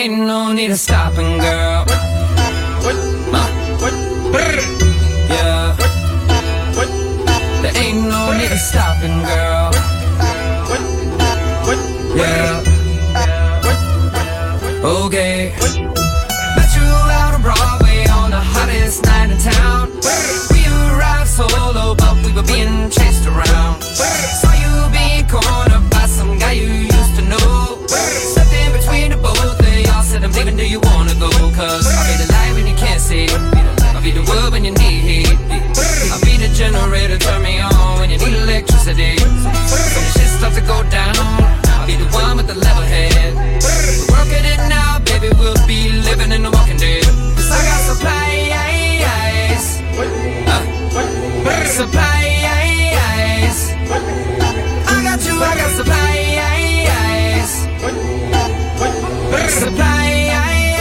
Ain't no need of stopping, girl. Yeah. There ain't no need of stopping, girl. Yeah. Okay. Met you out on Broadway on the hottest night in town. We arrived solo, but we were being chased around. Saw you being cornered by some guy you used to know. Stepped in between the both of y'all, said I'm leaving, do you wanna go? Cause I'll be the light when you can't see, I'll be the wood when you need heat, I'll be the generator, turn me on when you need electricity. When the shit starts to go down, I'll be the one with the level head. We're working it now, baby, we'll be living in the Walking Dead. Cause I got supplies, supplies. I got you, I got supplies, supplies.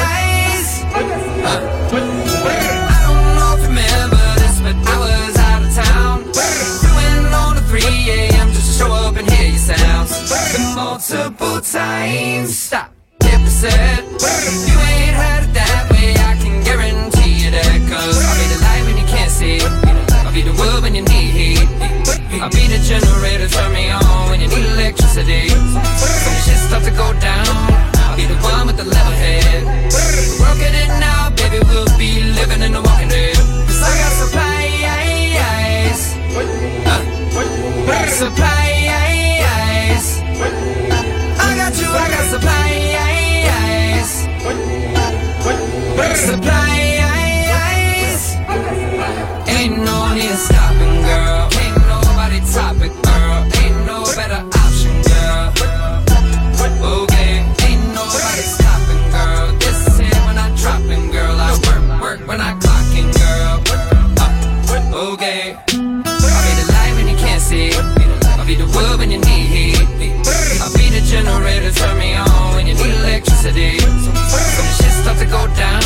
I don't know if you remember this, but I was out of town. Flew in on the 3 a.m. just to show up and hear your sounds. And multiple times, stop, hit reset. You ain't heard it that way, I can guarantee you that. Cause I'll be the light when you can't see, I'll be the wood when you need heat, I'll be the generator, turn me on when you need electricity. When the shit starts to go down, I'll be the one with the level head. We're working it now, baby, we'll be living in the Walking Dead. Cause I got supplies, supplies. I got you, I got supplies, supplies. Ain't no need of stopping, girl. Ain't nobody topic, girl. Ain't no better option, girl. Okay, ain't nobody stopping, girl. This is here when I'm dropping, girl. I work when I clocking, girl. Okay, I'll be the light when you can't see, I'll be the wood when you need heat, I'll be the generator, turn me on when you need electricity. When the shit starts to go down,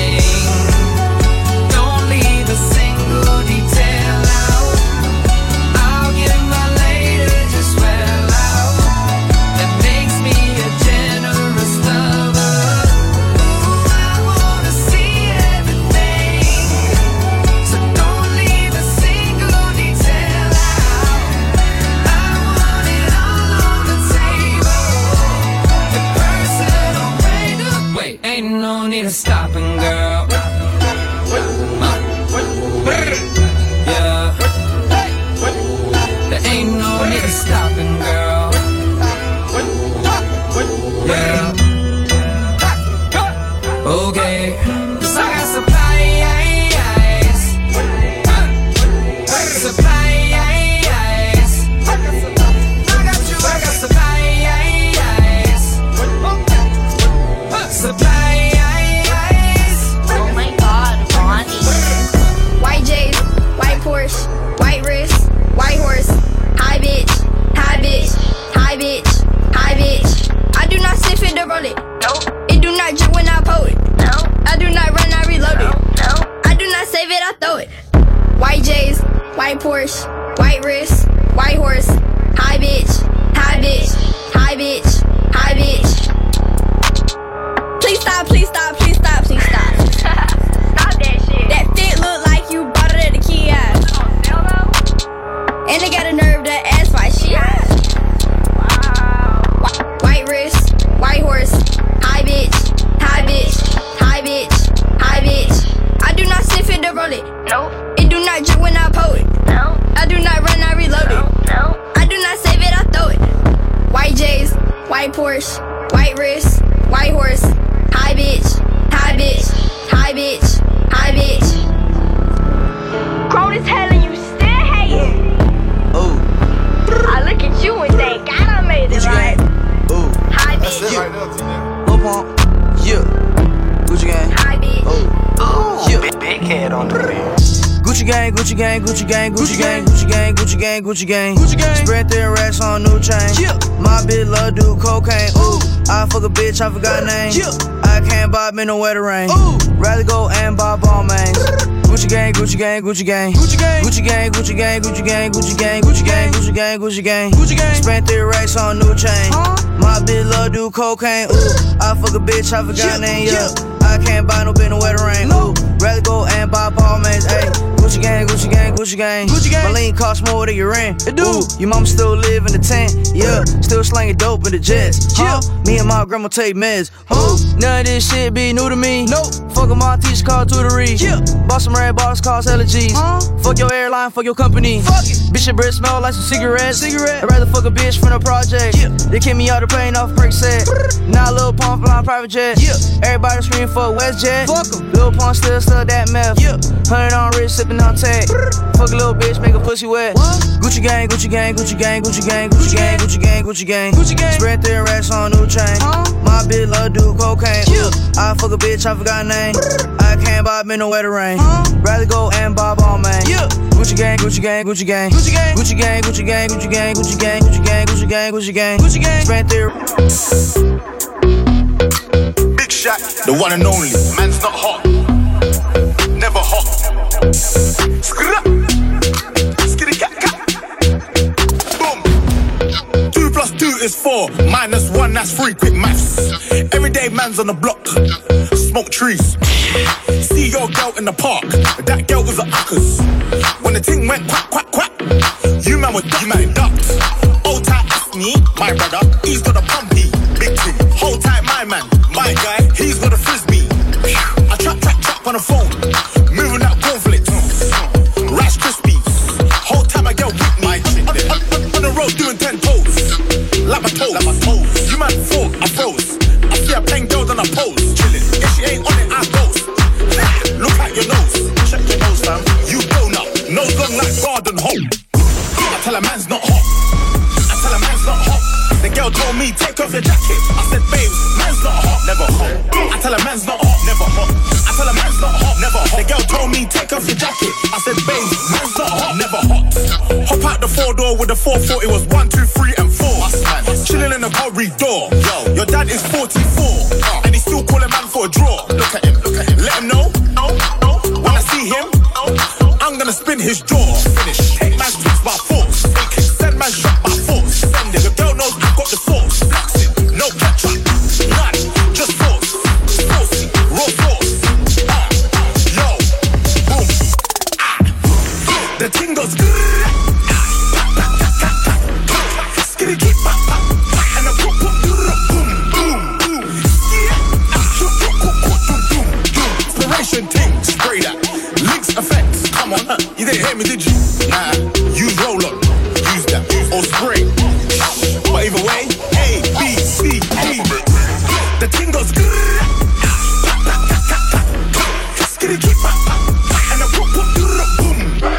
don't leave a single detail out. I'll give my later just well out. That makes me a generous lover. Ooh, I wanna see everything, so don't leave a single detail out. I want it all on the table. The personal way to wait. Ain't no need of stopping, girl. Yeah. There ain't no need of stopping, girl. Yeah. Okay. Cause I got supplies, supplies. I got you, I got supplies, supplies. Oh my god, Ronnie. White J's, white Porsche, white wrist, white horse. Hi bitch, hi bitch, hi bitch, hi bitch. I do not sniff it to roll it. Nope, It do not drip when I pull it. no, I do not run, I reload it. no. I do not save it, I throw it. White J's, white Porsche, white wrist, white horse. Hi bitch, hi bitch, hi bitch, hi bitch. Please stop, please stop, please stop, please stop. Stop that shit. That fit look like you bought it at the kiosk. Hell no. And they got a nerve to ask why she asked. Wow. White wrist, white horse. Hi bitch, hi bitch, hi bitch, hi bitch. I do not sniff it to roll it. Nope, It do not drip when I pull it. no, I do not run, I reload no, it. no. I do not save it, I throw it. White J's, white Porsche, white wrist, white horse. Hi bitch, hi bitch, hi bitch, hi bitch. Grown as hell and you still hating. Ooh, I look at you and think, God, I made it right. ooh, Hi That's it bitch, right there, Tina. Lil Pump, yeah. Gucci gang, Hi bitch. ooh, yeah. Big head on the beat. Gucci gang, Gucci gang, Gucci gang, Gucci gang, Gucci gang, Gucci gang, Gucci gang, Gucci gang. Spread their racks on new chain. Yeah. My bitch love do cocaine. Ooh, I fuck a bitch, I forgot name. Yeah. I can't bob in the weather rain. Ooh, rather go and buy ball mains. Gucci gang, Gucci gang, Gucci gang, Gucci gang, Gucci gang, Gucci gang, Gucci gang, Gucci gang, Gucci gang, Gucci gang, Gucci gang, Gucci gang. Spent their racks on new chain. My My bitch love do cocaine, ooh. I fuck a bitch, I forgot her name, yeah. I can't buy no bitch, no wedding ring, ooh. Rather go and buy Balmains, ayy. Gucci gang, Gucci gang, Gucci gang. Gucci gang. My lean cost more than your rent. It do. Ooh, your mama still live in the tent, yeah. Still slanging dope in the jets, huh? Me and my grandma take meds, huh? None of this shit be new to me. Nope. Fuck my teacher called tutory. Yeah. Bought some red bottles, cost hella G's. Fuck your airline, fuck your company. Fuck it. Bitch, your breath smell like some cigarettes. I'd rather fuck a bitch from the project. Yeah. They kick me out the plane off break set. Now Lil Pump flying private jet. Yeah. Everybody scream for WestJet. Fuck em. Lil Pump still that meth. Yeah. 100 on wrist, sipping on tag. Fuck a little bitch, make a pussy wet. What? Gucci gang, Gucci gang, Gucci gang, Gucci gang, Gucci gang, Gucci gang, Gucci gang, Gucci gang. Spread their racks on new chain. My bitch love do cocaine. Yeah. I fuck a bitch, I forgot her name. I can't buy me no wedding ring. Rather go and buy Balmain. Yeah. Gucci gang, Gucci gang, Gucci gang, Gucci gang, Gucci gang, Gucci gang, Gucci gang, Gucci gang, Gucci gang, Gucci gang, Gucci gang, Gucci gang. Spread their. Big Shaq, the one and only. Man's not hot, never hot. Skitty cat cat. Boom. 2 + 2 is 4. -1, that's 3. Quick maths. Everyday man's on the block. Smoke trees. See your girl in the park. That girl was a uckers. When the ting went quack quack quack, you man was ducked. Old tight me, my brother. He's got a pumpy, big ting. Hold tight, my man, my guy. He's got a frisbee. I trap on the phone, moving that cornflakes. Rice Krispies. Whole time I get with me. On the road doing 10 toes. Like my toes. You man thought I froze. I see her playing girls on a pose. Chilling. If she ain't on it, I goes. Look at your nose. Check your nose, fam. You grown up. Nose long like garden home. I tell a man's not hot. I tell a man's not hot. The girl told me, take off your jacket. I said, babes, man's not hot, never hot. I tell a man's not hot, never hot. I tell a man's not hot, never hot. The girl told me, take off your jacket. I said, babes, man's not hot, never hot. Hop out the 4-door with the 440, it was 1, 2, 3, and 4. Chilling in the corridor. Yo, your dad is 44, and he's still calling man for a draw. Look at him, let him know. When I see him, I'm gonna spin his jaw. Finish. Take man's tricks by force. Send man shot by force. Send it. Your girl knows I got the sauce. Flex it. No ketchup. None. Just sauce. Saucy. Raw sauce. Yo. Boom. The ting goes. Skitty keep pop pop. And the boom boom boom boom boom. Inspiration ting. Spray that. Links effects. Come on. You didn't hear me, did you? Nah. Use roll on. Use that. Or spray. But either way, A, B, C, D. The ting goes. Skitty keep pop pop. And the boom boom boom.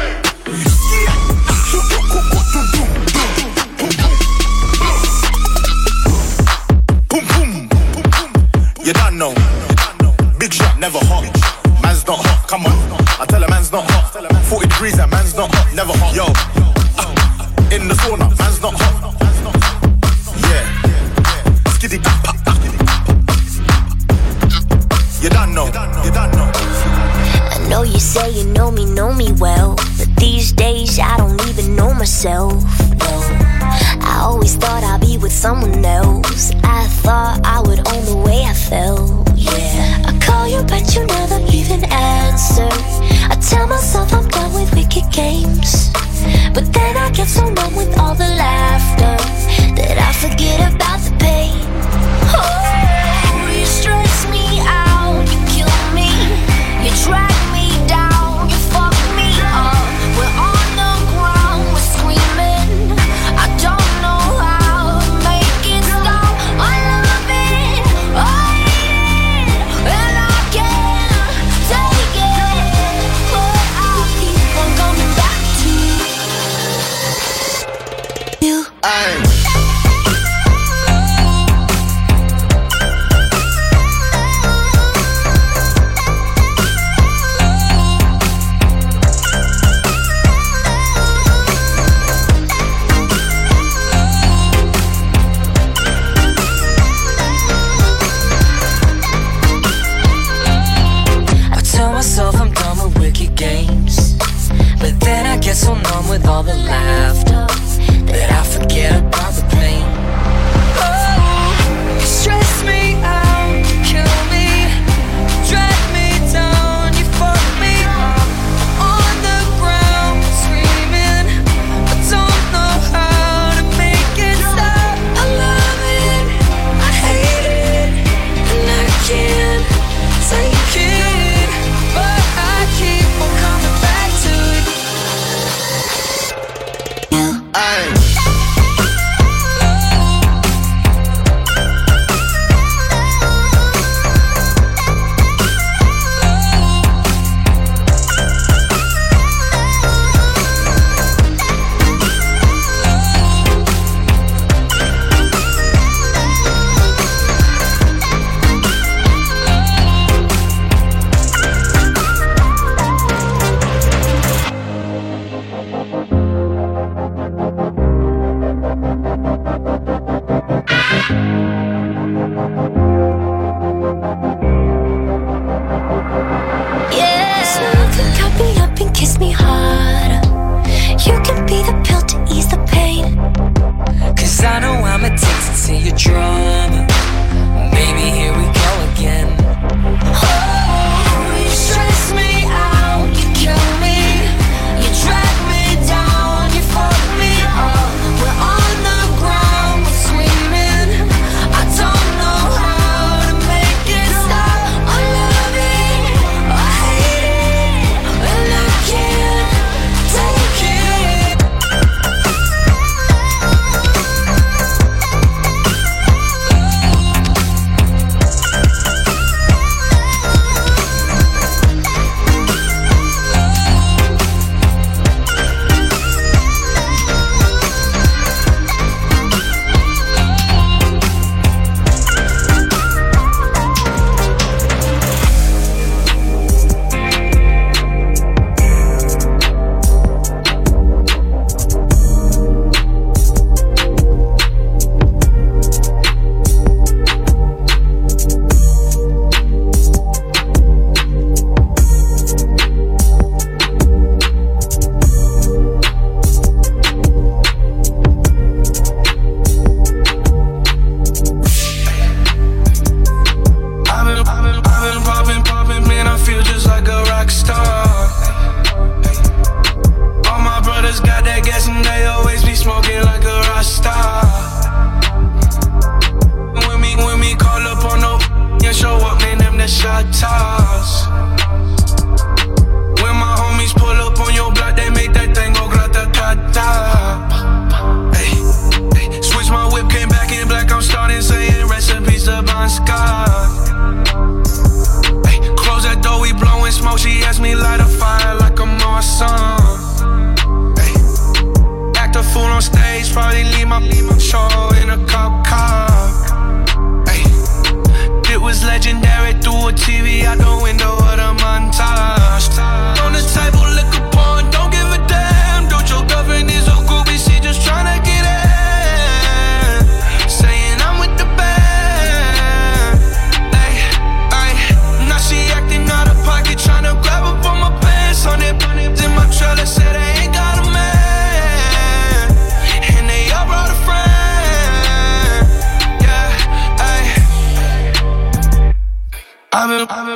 Boom boom. You don't know. Big shot, never hot. Man's not hot, come on. I tell a man's not hot. 40 degrees and man's not hot, never hot. Yo, in the sauna, man's not hot. Yeah, skitty pop pop. You don't know. I know you say you know me well, but these days I don't even know myself. No, I always thought I'd be with someone else. I thought I would own the way I felt. Yeah, I call you but you never even answer. I tell myself I'm done with wicked games, but then I get so numb with all the laughter that I forget about the pain. Oh, you stress me out, you kill me, you drag me down, you fuck me up. We're on the ground, we're screaming. I don't know how to make it stop. I love it, I hate it, and I can't take it, but I'll keep on coming back to you. Aye.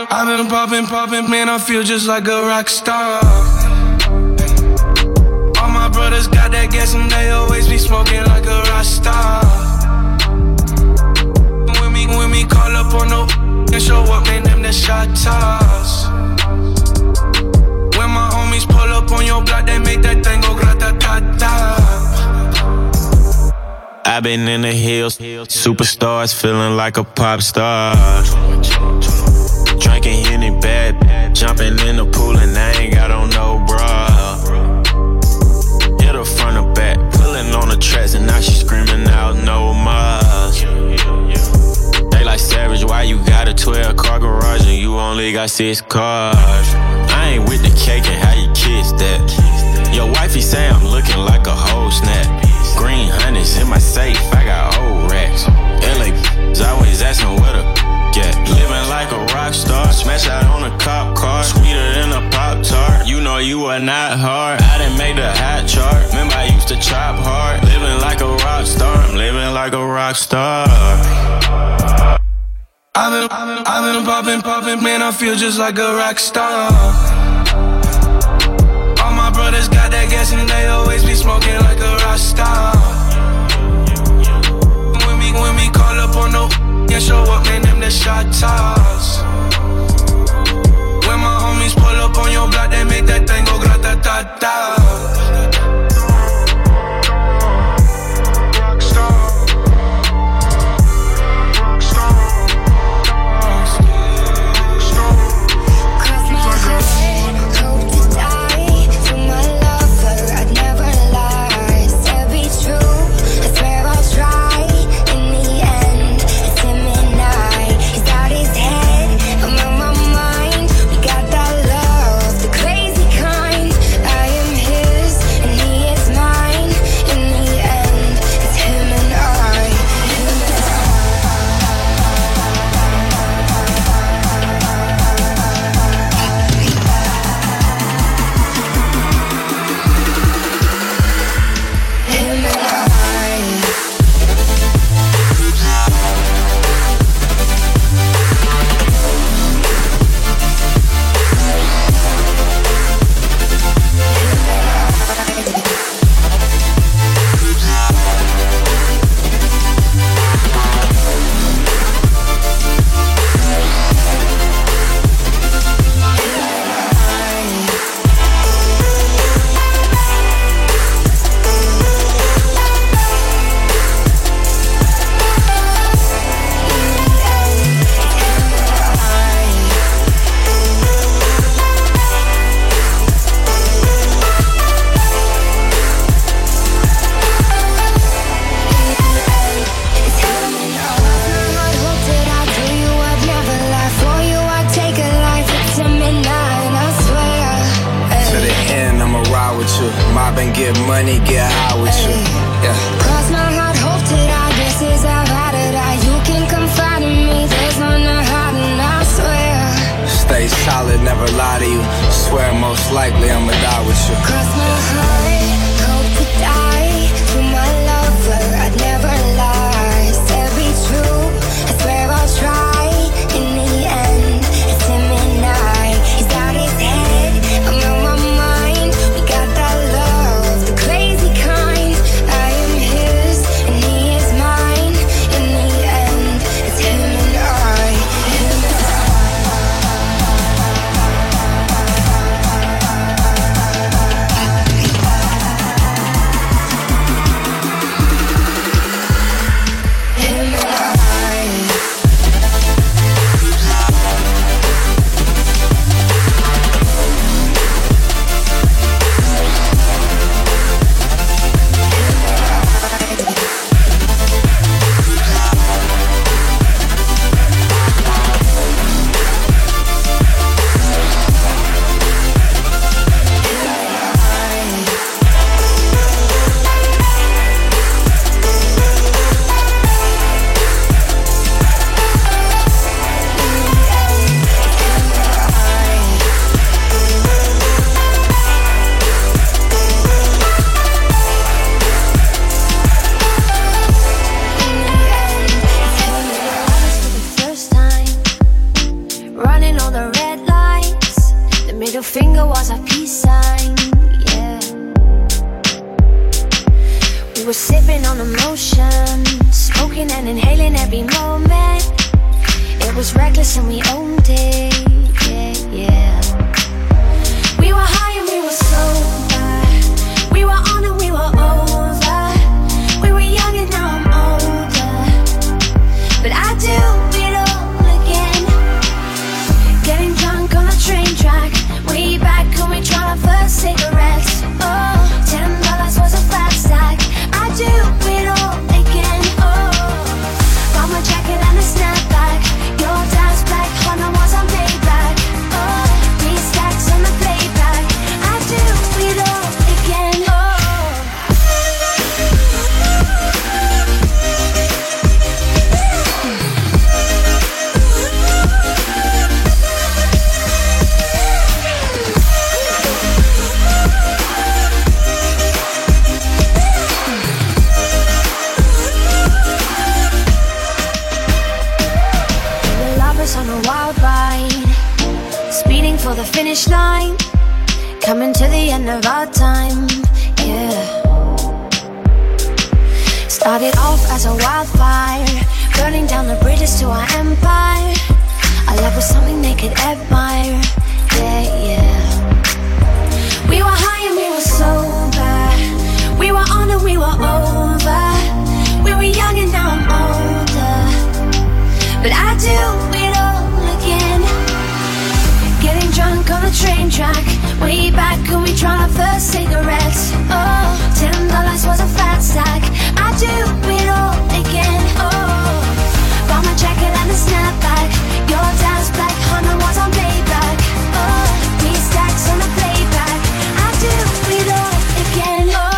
I've been poppin', man, I feel just like a rock star. All my brothers got that gas and they always be smoking like a rock star. When we call up on no and show up, man, them the shot toss. When my homies pull up on your block, they make that thing go grata-ta-ta. I've been in the hills, superstars feeling like a pop star. Drinking Henny bad, jumping in the pool and I ain't got on no bra. Hit her front or back, pulling on the tracks and now she screaming out no more. They like Savage, why you got a 12-car garage and you only got 6 cars? I ain't with the cake and how you kiss that. Your wifey say I'm looking like a whole snap. Green honey's in my safe, I got old racks. LA always asking where the get. Living like a rock star, smash out on a cop car, sweeter than a Pop-Tart. You know you are not hard, I done made the hot chart. Remember I used to chop hard, living like a rock star. I'm living like a rock star. I've been poppin', man, I feel just like a rock star. All my brothers got that gas and they always be smoking like a rock star. When we call up on no and show up, man, them the shot toss. When my homies pull up on your block, they make that thing go grata-ta-ta. Crazy kind. finger was a peace sign, yeah. We were sipping on emotion, smoking and inhaling every moment. It was reckless and we owned it, yeah, yeah. We were high and we were sober. We were on and we were over. We were young and now I'm older. But I do it all again. Getting drunk on a train track. Way back when we tried our first cigarettes. Oh, $10 was a fat stack. I do it all again. Oh, bought my jacket and a snapback. Your dad's black Honda was on payback. Oh, these stacks on the playback. I do it all again. On a wild ride, speeding for the finish line, coming to the end of our time, yeah. Started off as a wildfire, burning down the bridges to our empire. Our love was something they could admire, yeah, yeah. We were high and we were sober. We were on and we were over. We were young and now I'm older. But I do it all again. Getting drunk on a train track. Way back when we tried our first cigarettes. Oh, $10 was a fat stack. I do it all again. Oh, bought my jacket and a snapback. Your dad's black Honda was on payback. Oh, these stacks on the playback. I do it all again. Oh.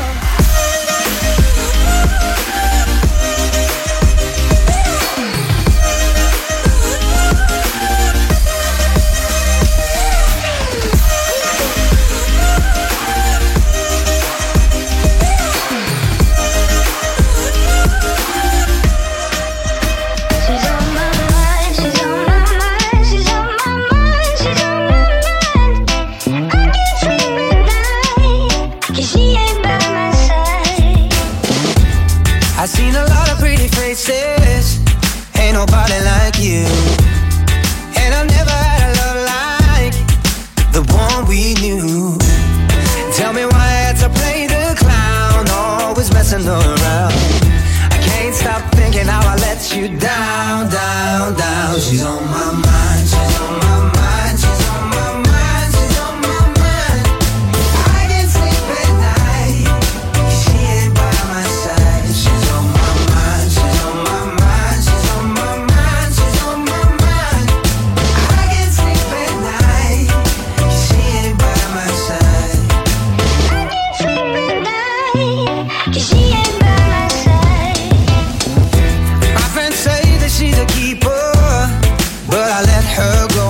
I've seen a lot of pretty faces, ain't nobody like you. And I've never had a love like the one we knew. Tell me why I had to play the clown, always messing around. I can't stop thinking how I let you down, down, down. She's on my mind, she's on my mind, she's on my mind, she's on my mind. I can't sleep at night, she ain't by my side. She's on my mind, she's on my mind, she's on my mind, she's on my mind. I can't sleep at night, she ain't by my side. I can't sleep at night, 'cause she ain't by my side. My friends say that she's a keeper, but I let her go.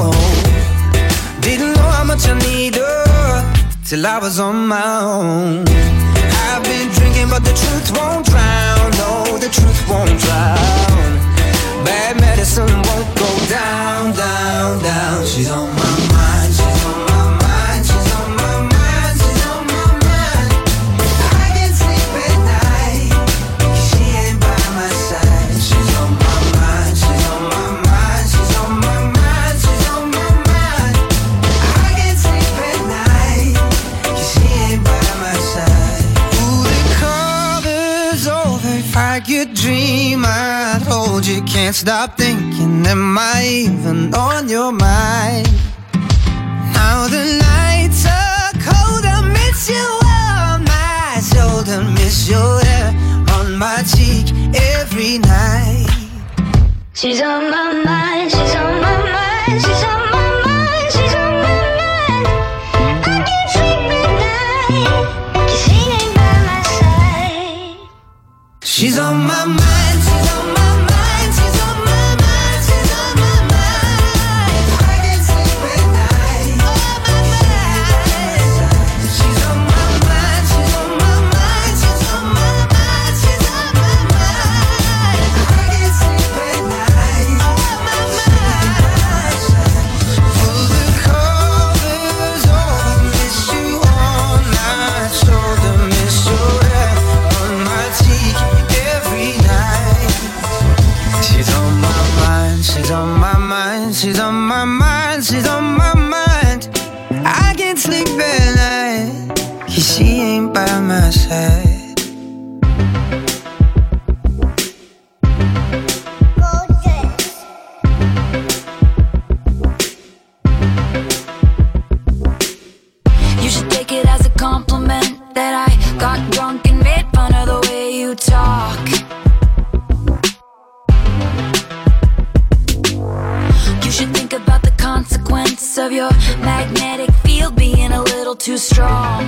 Didn't know how much I need her till I was on my own. I've been drinking, but the truth won't drown. No, the truth won't drown. Bad medicine won't go down, down, down. She's on my mind, she's on my mind, she's on my mind, she's on my mind. I can't sleep at night, 'cause she ain't by my side. She's on my mind, she's on my mind, she's on my mind, she's on my mind. I can't sleep at night, 'cause she ain't by my side. Ooh, the cover's over. If I could dream, I'd hold you. Can't stop thinking, am I even on your mind? Now the nights are cold, I miss you on my shoulder, miss your hair on my cheek every night. She's on my mind, she's on my mind, she's on my mind, she's on my mind. I can't sleep at night, 'cause she ain't by my side. She's on my mind, she's on my mind, she's on my mind, she's on my mind. I can't sleep at night, on my mind. She's on my mind, she's on my mind, she's on my mind, she's on my mind. I can't sleep at night, on my mind. Pull the covers mind, she's on my mind, she's on my mind, she's on my mind. I can't sleep at night, 'cause she ain't by my side. You should take it as a compliment that I got drunk and made fun of the way you talk. You should think about the consequence of your magnetic field being a little too strong.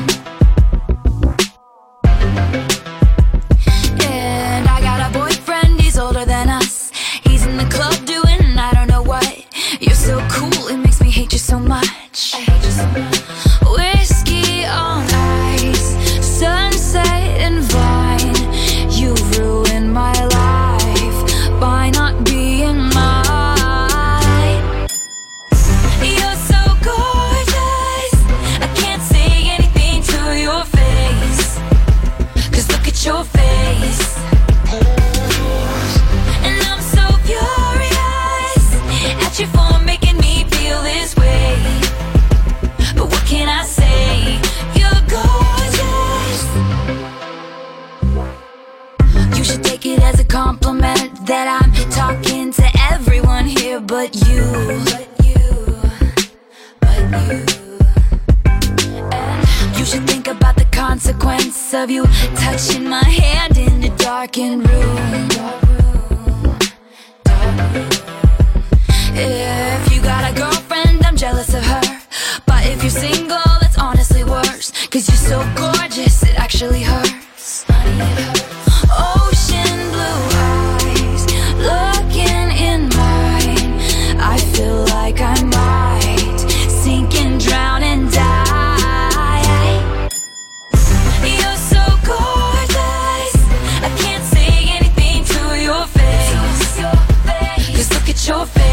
And I got a boyfriend, he's older than us. He's in the club doing I don't know what. You're so cool, it makes me hate you so much. I hate you so much. Whiskey on ice, sunset and vine. You ruined my life by not being mine. You're so gorgeous, I can't say anything to your face, 'cause look at your face. And I'm so furious at you for making me feel this way. But what can I say? You're gorgeous. You should take it as a compliment that I'm talking to everyone here but you. And you should think about the consequence of you touching my hand in a darkened room. If you got a girlfriend, I'm jealous of her. But if you're single, it's honestly worse, 'cause you're so gorgeous, it actually hurts. Ocean blue eyes, looking in mine. I feel like I might sink and drown and die. You're so gorgeous, I can't say anything to your face, 'cause look at your face.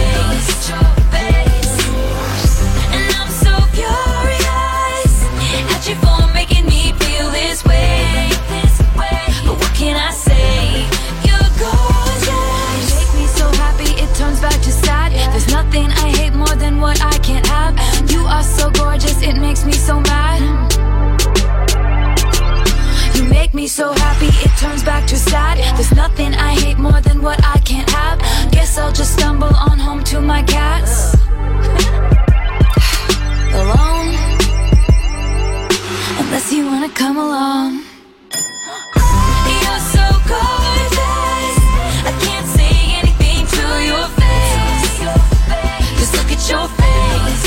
And I'm so furious at you for making me feel this way. But what can I say? You're gorgeous. You make me so happy it turns back to sad. There's nothing I hate more than what I can't have. You are so gorgeous, it makes me so mad. You make me so happy it turns back to sad. There's nothing I hate more than what I can't have. Guess I'll just stumble on home to my cats. Alone, unless you wanna come along. You're so gorgeous, I can't say anything to your face, 'cause look at your face.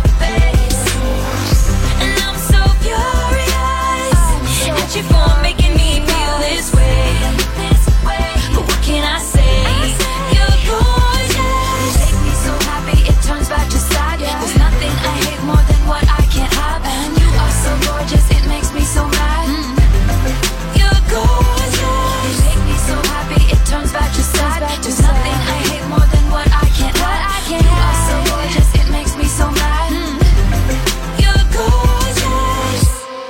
And I'm so furious at you for making me feel this way. But what can I say? You're gorgeous. You make me so happy it turns back to sad. There's nothing I hate more than what I can't have. You are so gorgeous, it makes me so mad. You're gorgeous. You make me so happy it turns back to sad. There's nothing I hate more than what I can't have. You are so gorgeous, it makes me so mad. You're gorgeous.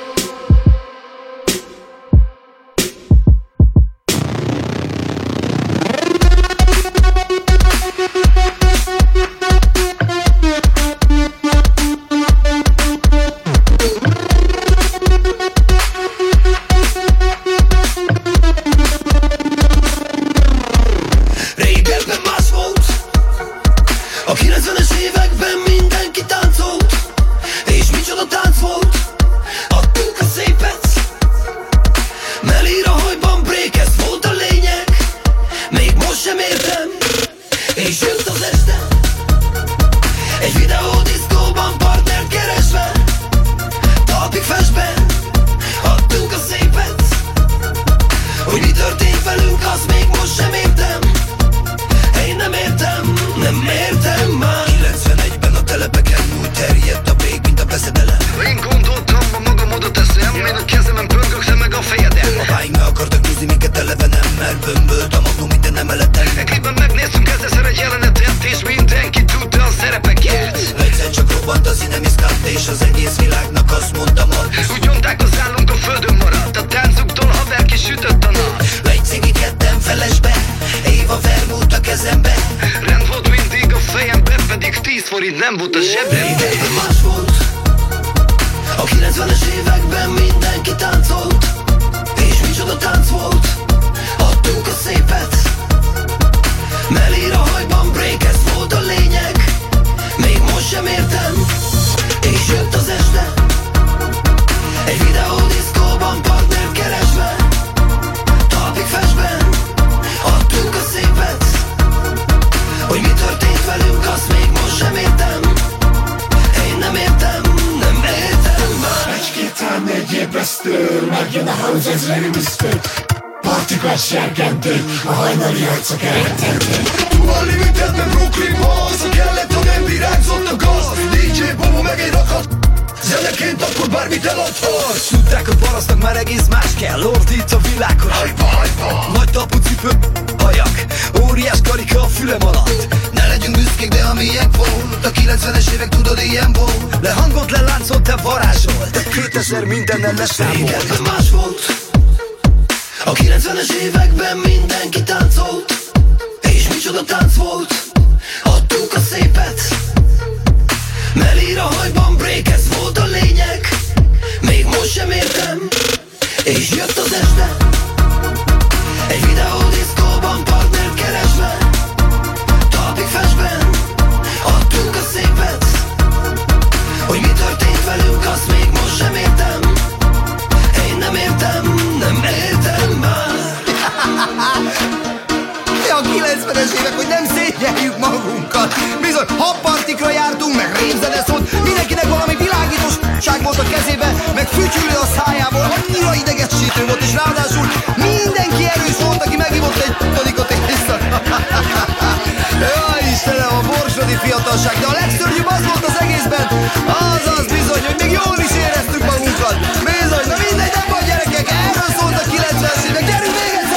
Régebben más volt, a 90-es években mindenki táncolt. És micsoda tánc volt, adtuk a szépet. Melír a hajban break, ez volt a lényeg. Még most sem értem, és jött az este. Egy videódiszkóban partnert keresve, talpig festben, adtuk a szépet. Hogy mi történt velünk, azt még most sem értem. Én nem értem, nem értem már. 91-ben a telepeken úgy terjedt a break, mint a beszedelem. Én gondoltam, a magam oda teszem. Én a kezemen pörgök, te meg a fejedem. Apáink meg akartak húzni minket eleve nem, mert bömbölt a magnum minden emeleten. Egy klipben megnéztünk ezerszer egy jelenetet, és mindenki tudta a szerepeket. Egyszer csak robbant az inemiszkát, és az egész világnak azt mondtam, hogy úgy nyomták az állunk a földön maradt. A táncuktól haver kisütött a nap. Egy cigi ketten felesbe, Éva vermúlt a kezembe. Rend volt, forint nem volt a zsebben. Régebben más volt. A 90-es években mindenki táncolt. És micsoda tánc volt. Adtuk a szépet. Melír a hajban break, ez volt a lényeg. Még most sem értem. És jött az este. Egy videódiszkóban partnert keresve. Talpig festben. Adtuk a szépet. Hogy mi történt velünk, azt még most sem értem. Én nem értem, nem értem már. Egy-két ám egy ébresztő, megjön a house, ez realisztő. Partikat serkentő, a hajnali arcok elrettenték. Tuval limitedben Brooklynban, az a kellett, ha nem virágzott a gaz. DJ Bobo meg egy rakat. Zeneként akkor bármit eladhatsz. Tudták, hogy parasztnak már egész más kell. Ordít a világon. Hajba, hajba. Nagy tapucipő, hajak. Óriás karika a fülem alatt. Ne legyünk büszkék, de ami ilyen volt. A 90-es évek tudod ilyen volt. Le hangot leláncolt, te varázsolt. 2000 mindennel leszámolt. Régebben más volt. A 90-es években mindenki táncolt. És micsoda tánc volt. Adtuk a szépet. Melír a hajban break, ez volt a lényeg. Még most sem értem. És jött az este. Egy videódiszkóban partnert keresve. Talpig festben. Adtuk a szépet. Hogy mi történt velünk, azt még most sem értem. Én nem értem, nem értem már. A 90-es évek, hogy nem szégyeljük magunkat. Bizony, habpartikra jártunk, meg rémzene szólt. Mindenkinek valami világítosság volt a kezébe, meg fütyülő a szájából. Annyira idegesítő volt, és ráadásul mindenki erős volt, aki megivott egy tonikot éjszak. Jaj, Istenem, a borsodi fiatalság. De a legszörnyűbb az volt az egészben, az bizony, hogy még jól is éreztük magunkat. Bizony, na mindegy, nem vagy gyerekek, erről szólt a 90-es évek. Gyerünk még egyszer,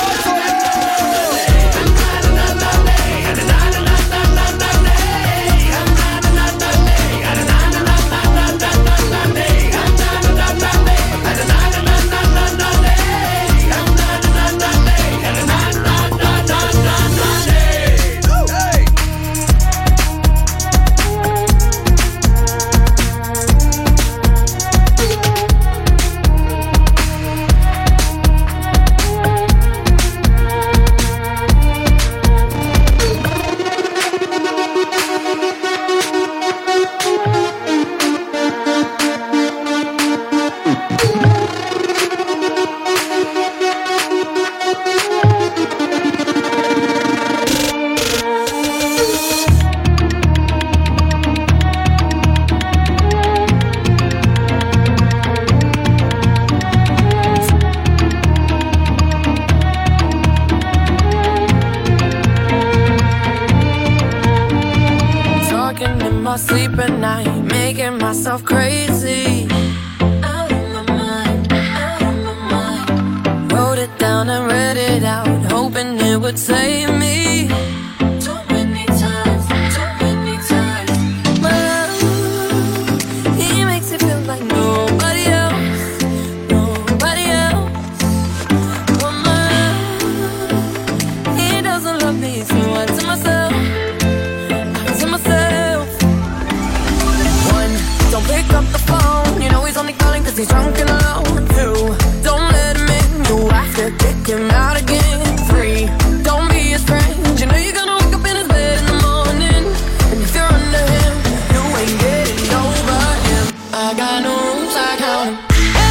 sleep at night, making myself crazy. Out of my mind, out of my mind. Wrote it down and read it out, hoping it would save me. Too many times, too many times. My love, he makes it feel like nobody else, nobody else. Well, my love, he doesn't love me, so I tell myself. Don't pick up the phone, you know he's only calling cause he's drunk and alone. 2, don't let him in, you have to kick him out again. 3, don't be his friend, you know you're gonna wake up in his bed in the morning. And if you're under him, you ain't getting over him. I got no rules, I count him.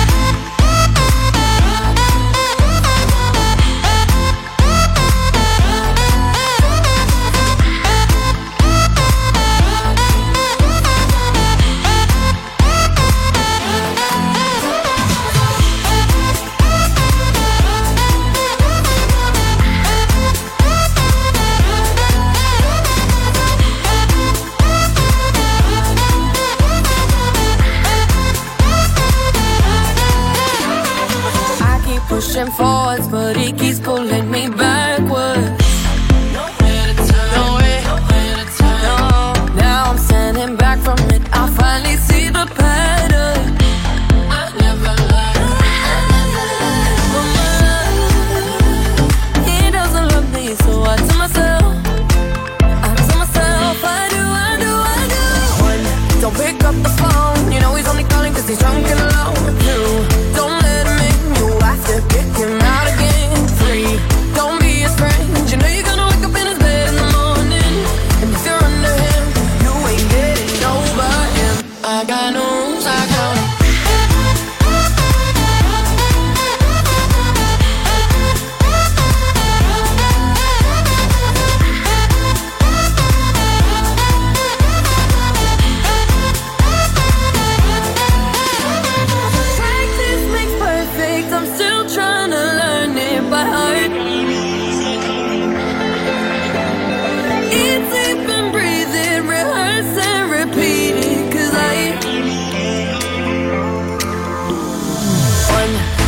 Pushing forwards, but he keeps pulling me backwards. Nowhere to turn, nowhere to turn. No. Now I'm standing back from it. I finally see the pattern. I never learned. He doesn't love me, so I tell myself, I do.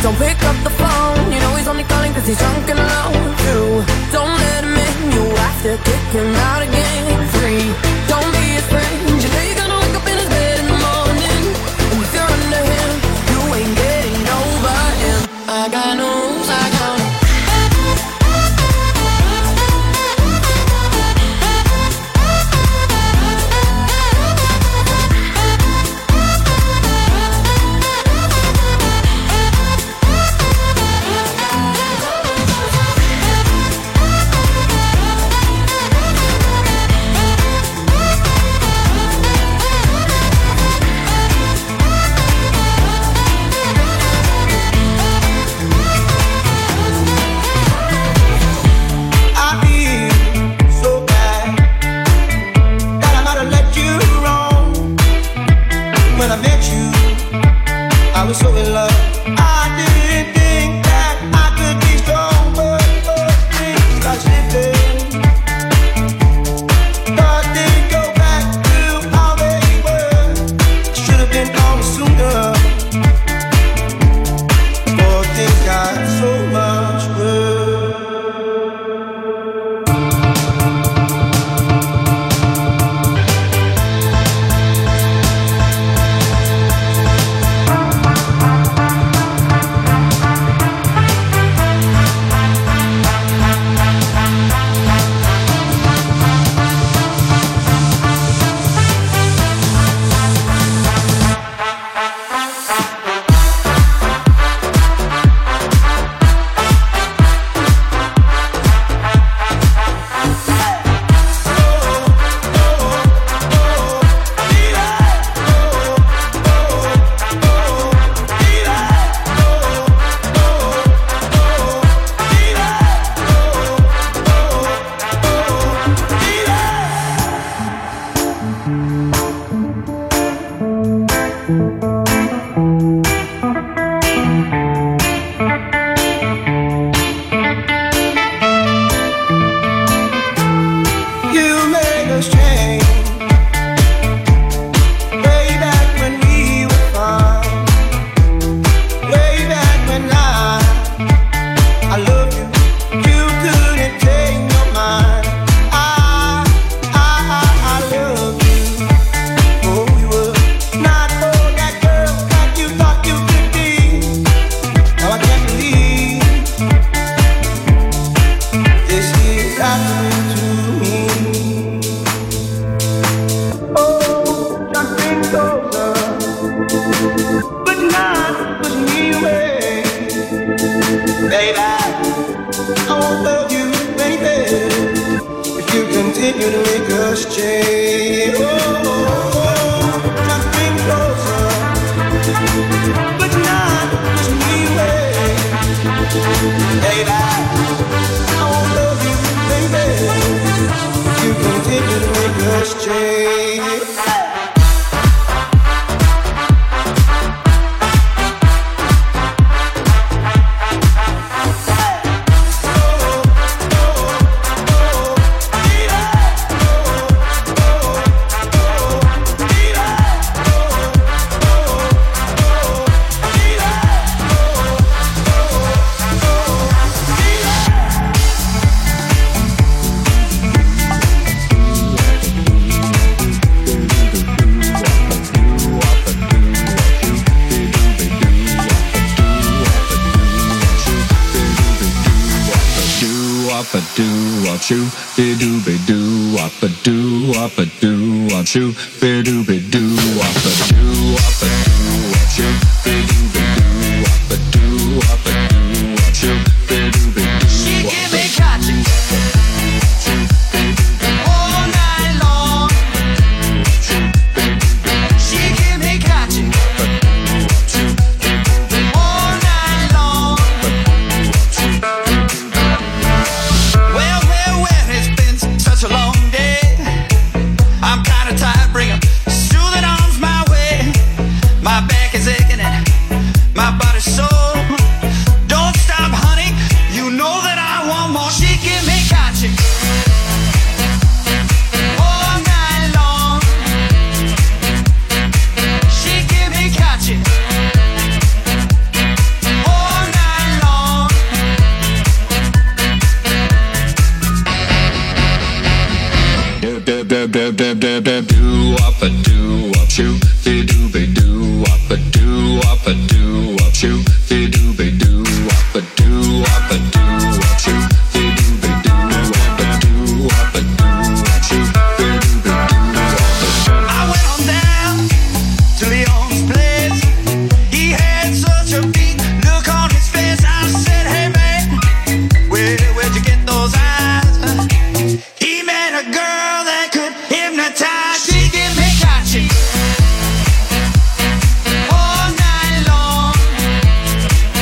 Don't pick up the phone, you know he's only calling cause he's drunk and alone. 2, don't let him in, you have to kick him out again. 3, don't be his friend, you know you're gonna wake up in his bed in the morning. And if you're under him, you ain't getting over him. I got no rules, I got no. I was so in love. I didn't think that I could be strong, but things got slipping. Thought they'd go back to how they were. Should have been gone sooner. But things got so much worse. Bring 'em soothing arms my way. My back is aching and All night long.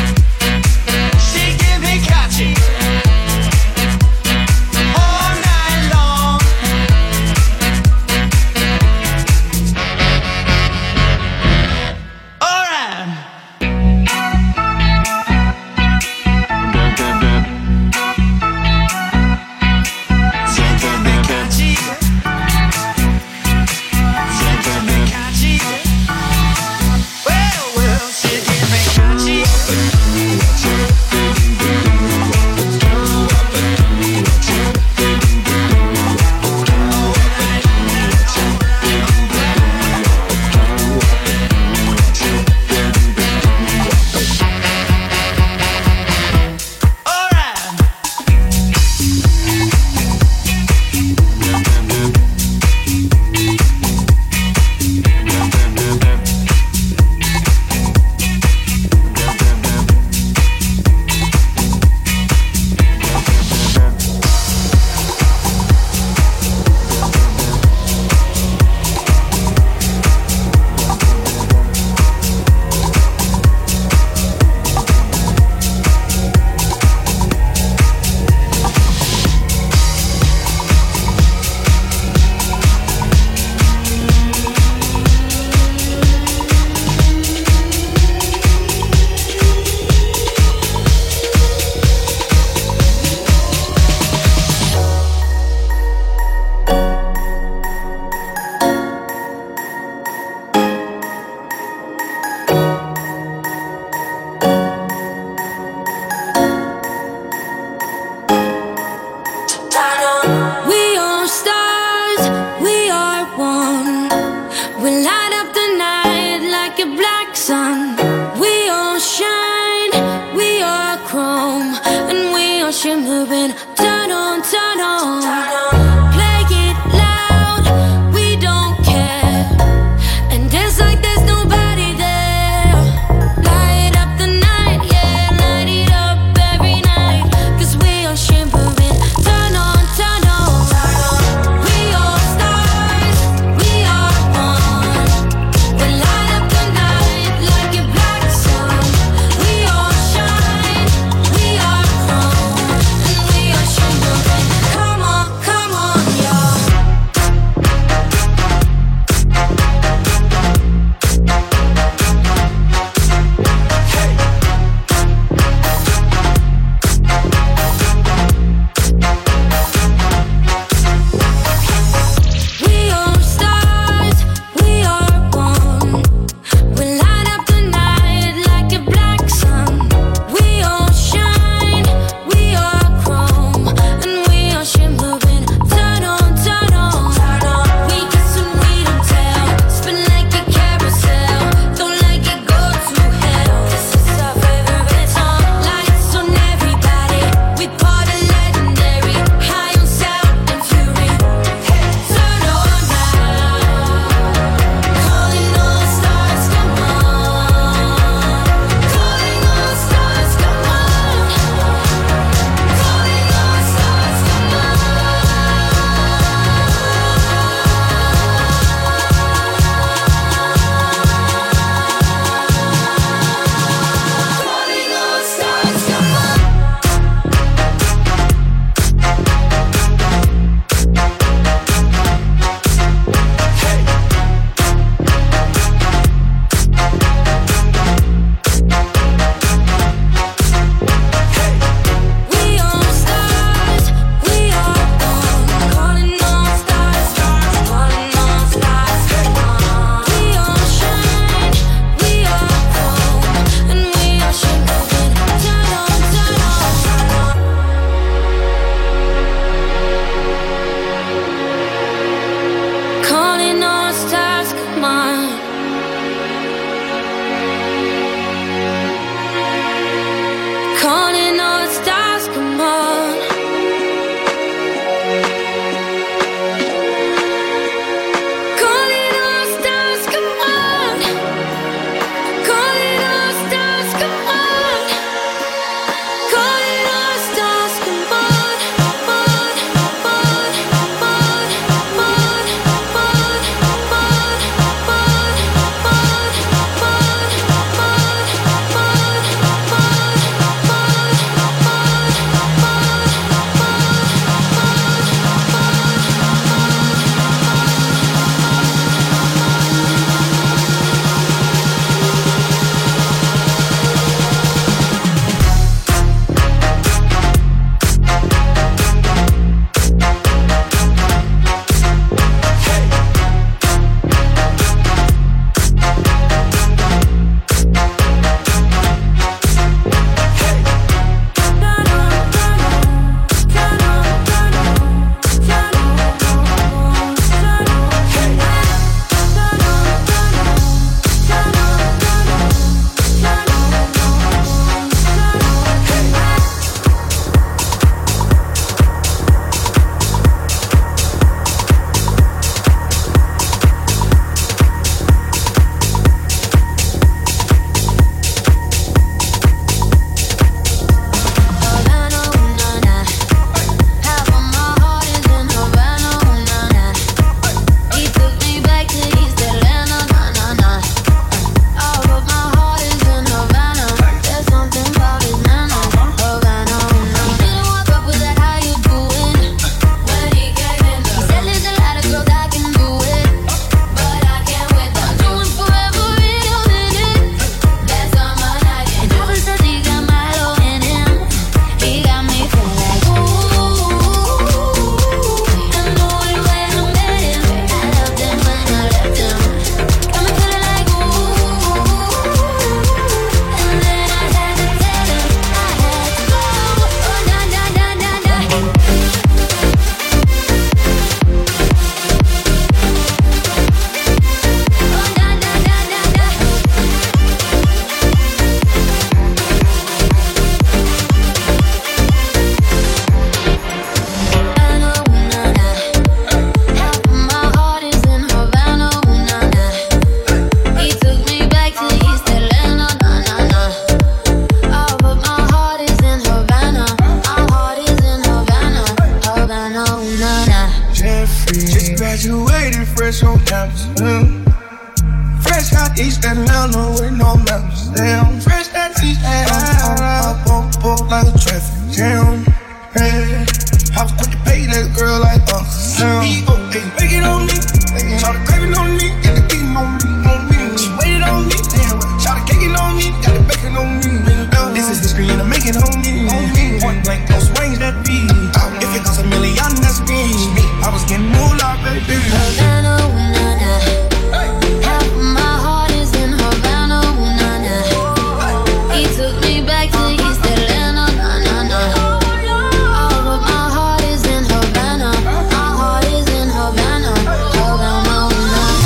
Just graduated fresh on campus. Fresh out East Atlanta with no maps. Damn, fresh out East Atlanta. Up on book like a traffic jam. Hey, I was quick to pay that girl like Sam. They make it on me. Try to crave it on me. Get the beating on me. She waited on me. Damn, try to cake it on me. Got it bacon on me. This is history and I make it on me. Point blank, those range that beat. If it costs $1 million, that's me. I was getting moolah, baby. Havana, ooh, nah, nah. Half of my heart is in Havana, ooh, nah, nah. He took me back to East Atlanta, nah, nah, nah. All of my heart is in Havana. My heart is in Havana, Havana, ooh, nah,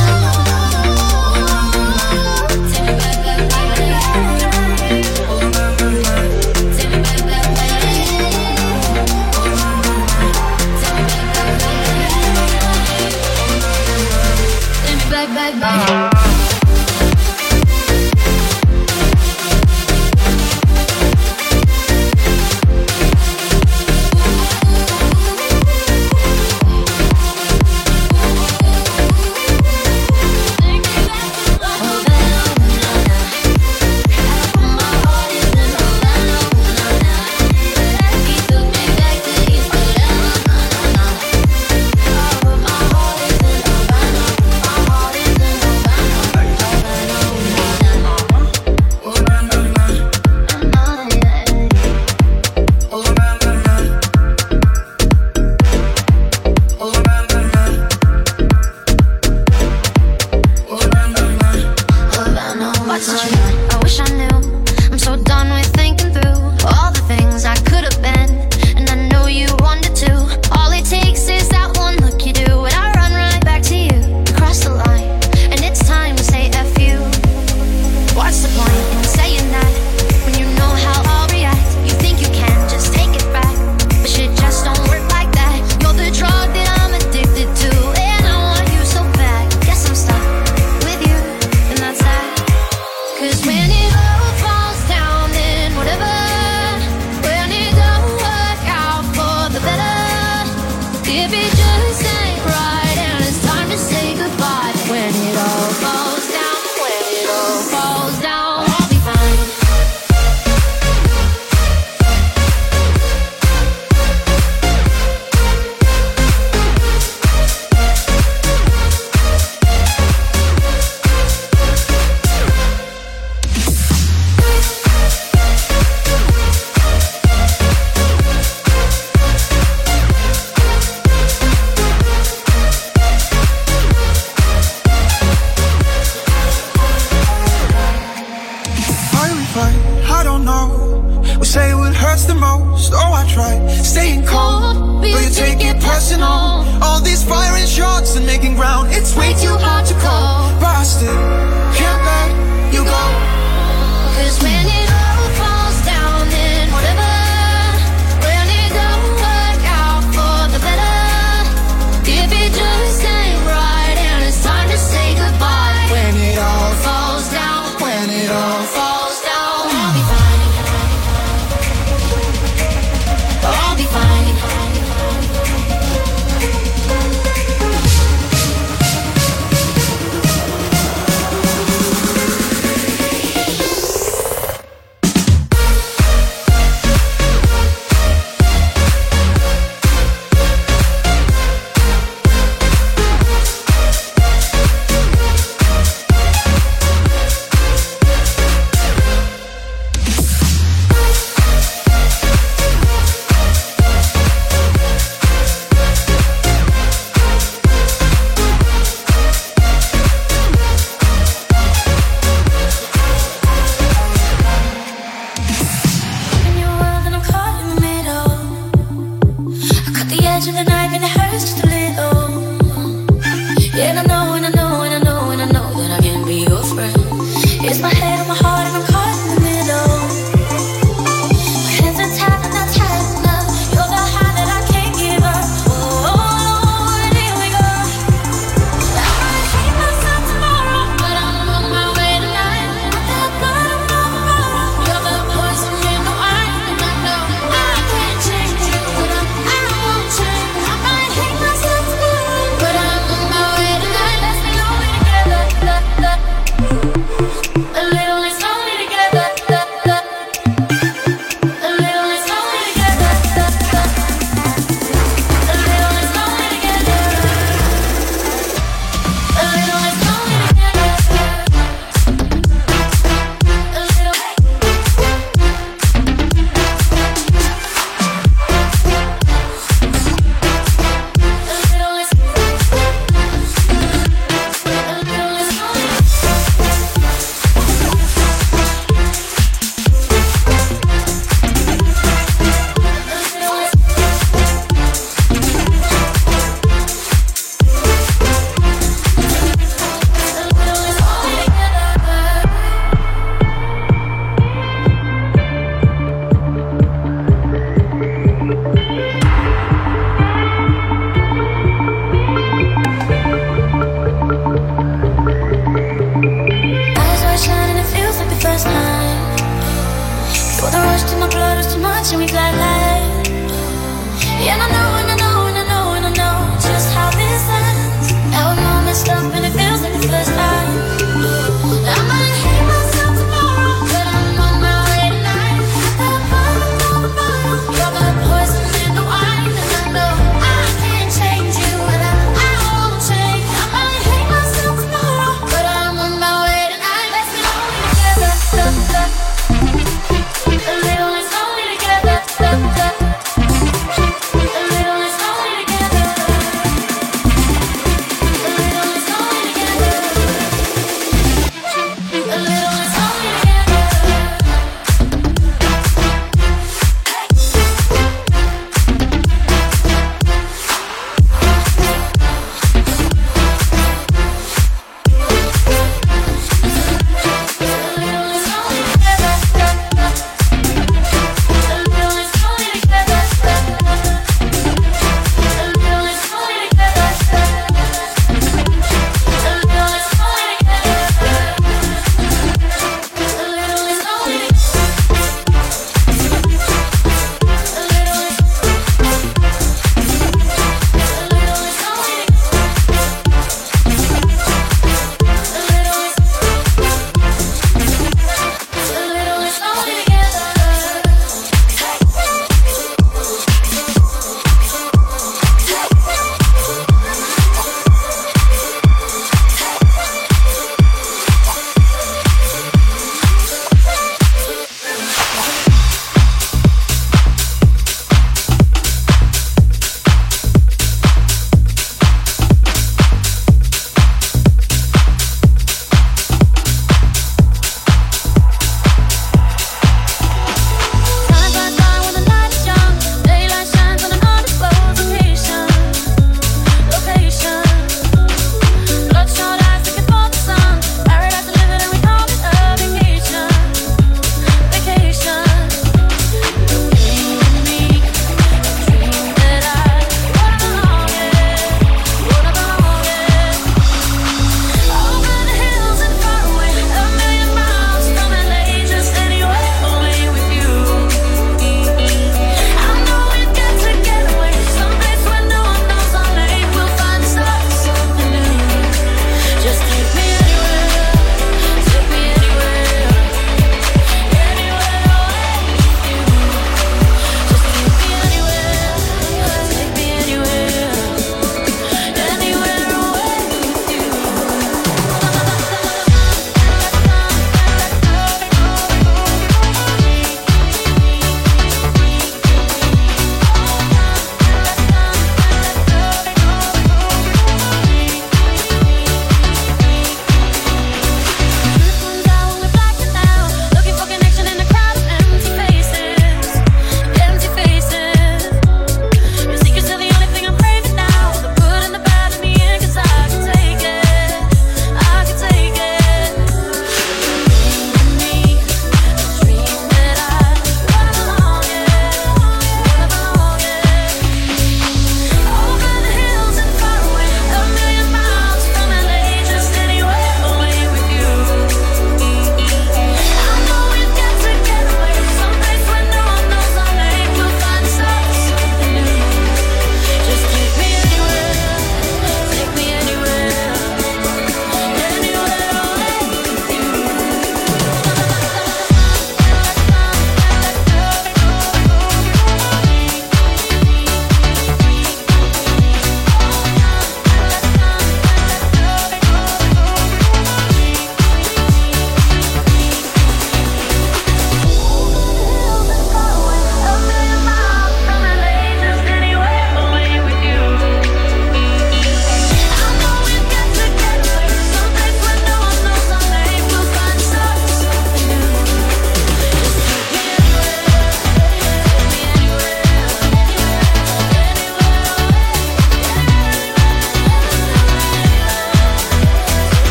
nah. Take me back, back, back, back. Take me back, back, back. Back, back.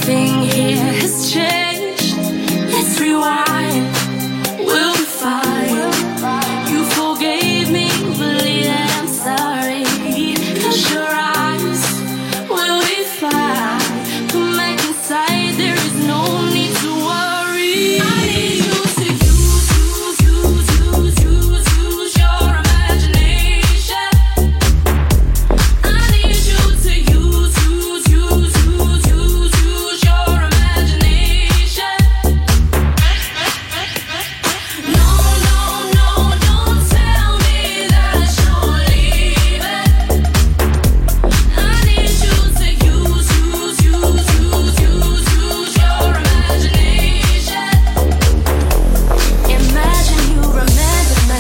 Nothing here has changed. Let's rewind. We'll be fine. You forgave me, believe that I'm sorry. Close your eyes. We'll be fine. Come back inside. There is no need to worry. I need you to use your imagination. I need you to use your imagination. No, don't tell me that you're leaving. I need you to use your imagination. Imagine you remember me.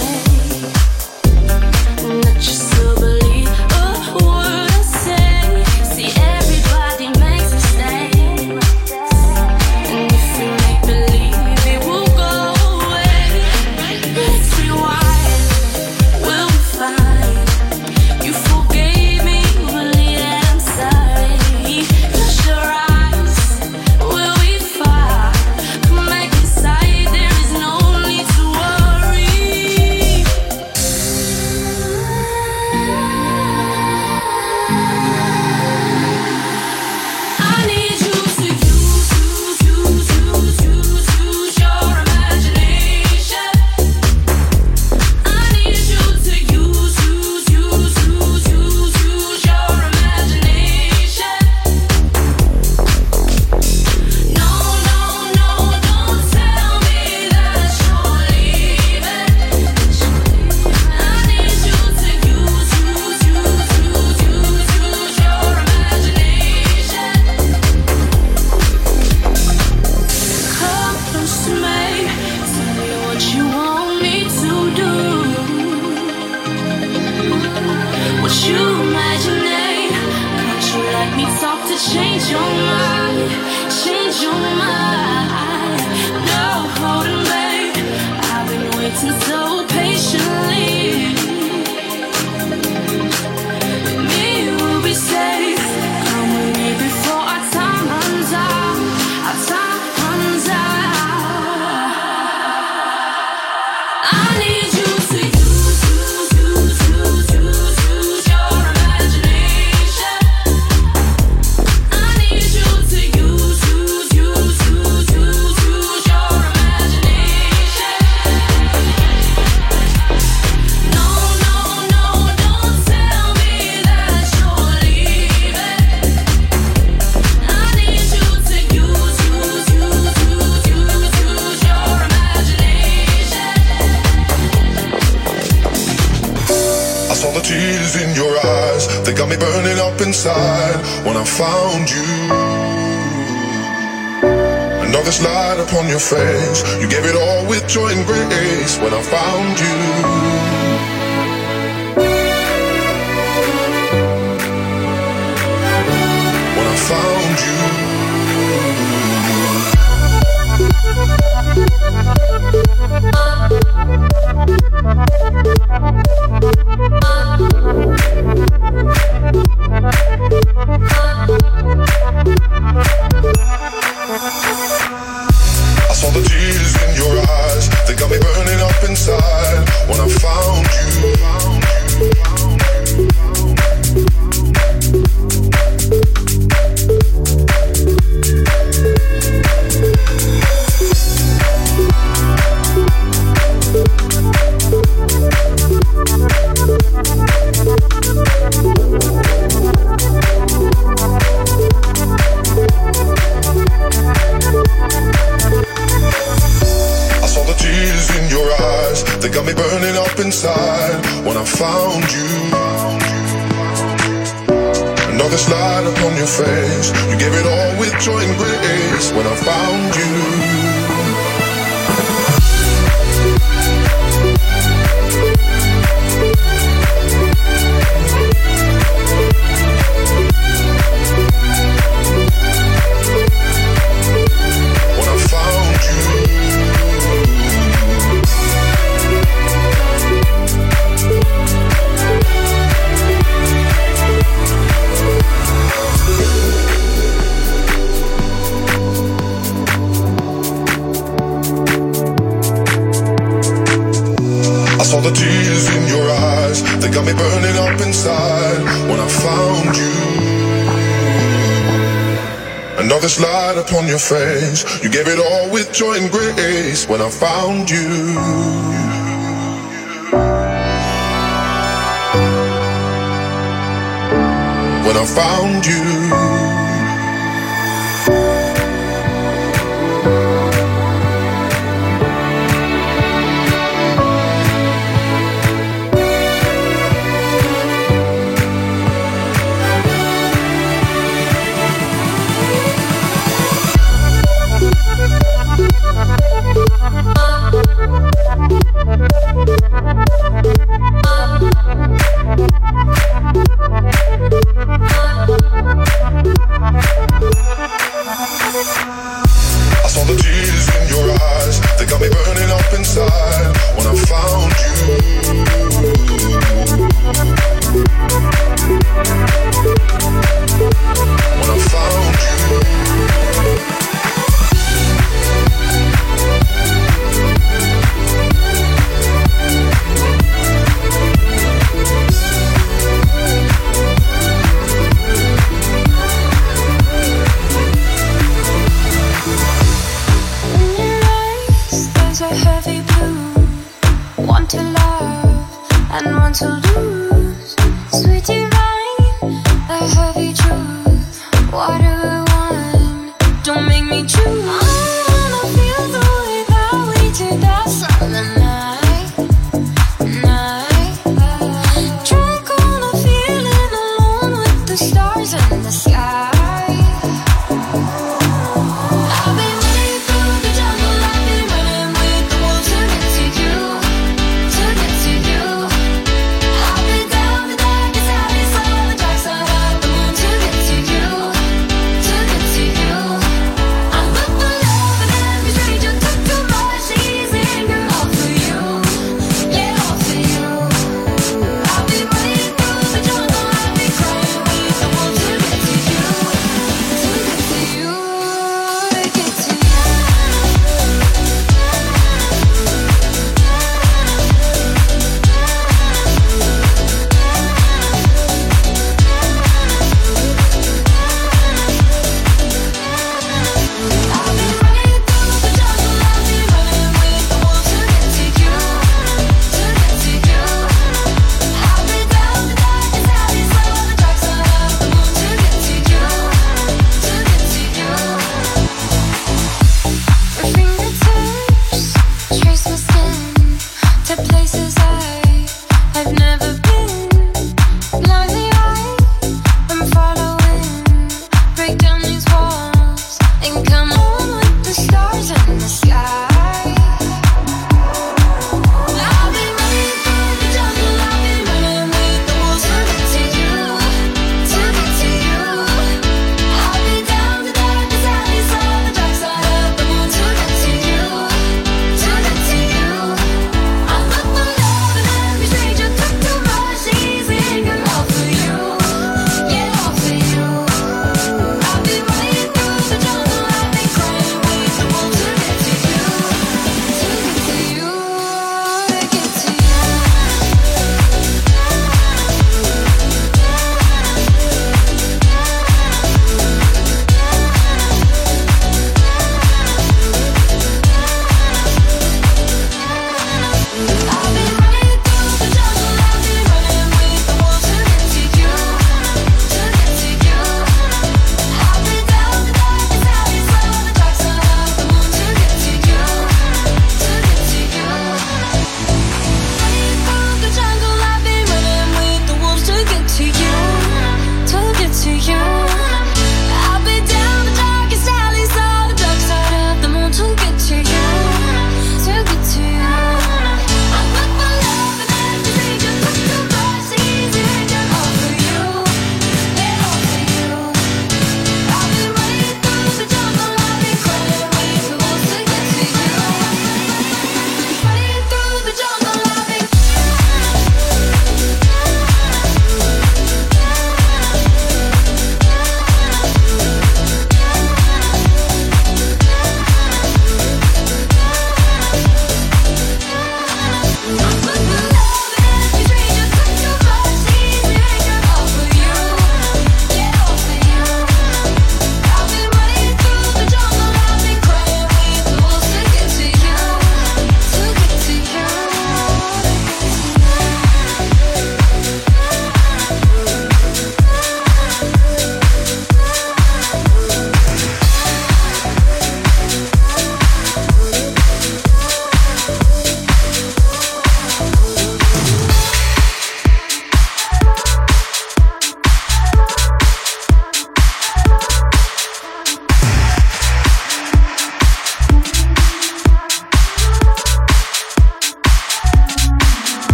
Not just to believe a word I say. See, everybody makes mistakes, and if you make believe, it will go away. Let's rewind. We'll be fine. You forgave me, believe that I'm sorry. Close your eyes. We'll be fine. Come back inside. There is no need to worry. I need you to use your imagination. I need you to use your imagination. No, don't tell me that you're leaving. I need you to use your imagination. Come close to me. Tell me what you want me to do. What you imagining? Can't you let me talk to change your mind? Change your mind. No holding back. I've been waiting so patiently. With me, we'll be safe. Come with me before our time runs out. Our time runs out. I need you to use your imagination. I need you to use your imagination. No, don't tell me that you're leaving. I need you to use your imagination. I saw the tears in your eyes, they got me burning up inside when I found you. And all this light upon your face, you gave it all with joy and grace when I found you. When I found you. I saw the tears in your eyes, they got me burning up inside when I found you. I saw the tears in your eyes, they got me burning up inside when I found you. And all this light upon your face, you gave it all with joy and grace when I found you. When I found you. this light upon your face. You gave it all with joy and grace when I found you. When I found you. I saw the tears in your eyes, they got me burning up inside when I found you. When I found you. To love and want to lose, sweet divine, the heavy truth. What do I want? Don't make me choose. I wanna feel the way that we did that Southern night. Drunk on a feeling, alone with the stars in the sky. I've been running through the jungle, I've been running with the wolves to get to you. I'm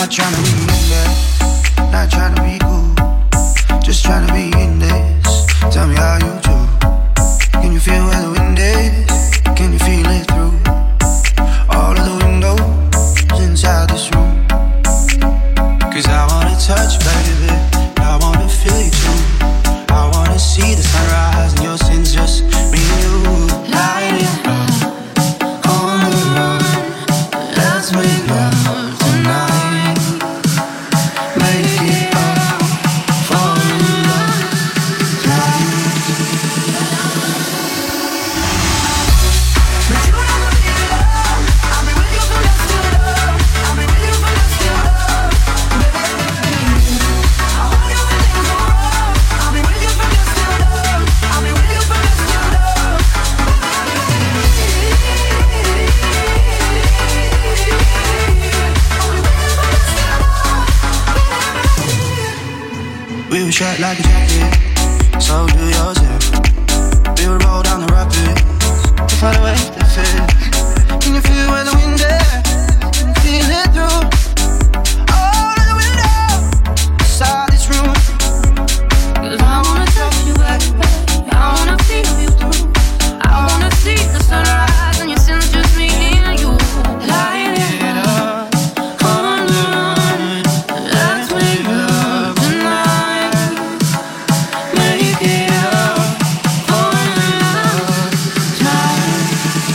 Not trying to be bad, not trying to be cool, just trying to be in this. Tell me how you do. Can you feel where the wind is? Can you feel it through all of the windows inside this room? Cause I wanna touch, baby, I wanna feel you too. I wanna see the sunrise and your sins, just me and you. Light it up on the run. Let's make love tonight. Make it up, fall in love tonight. But you never feel love. I'll be with you from dusk till dawn. I'll be with you from dusk till dawn. I want you when things go wrong. I'll be with you from dusk till dawn. I'll be with you from dusk till dawn. We were shot like a jacket, so do yours. We would roll down the rapids to find a way to fit. Can you feel where the wind is? Can you feel it through all of the windows inside this room? Cause I wanna touch you, baby, I wanna feel you through. I wanna see the sunrise and your sins, just me and you. Light it up on the run. Let's make love tonight. Make it up for love tonight.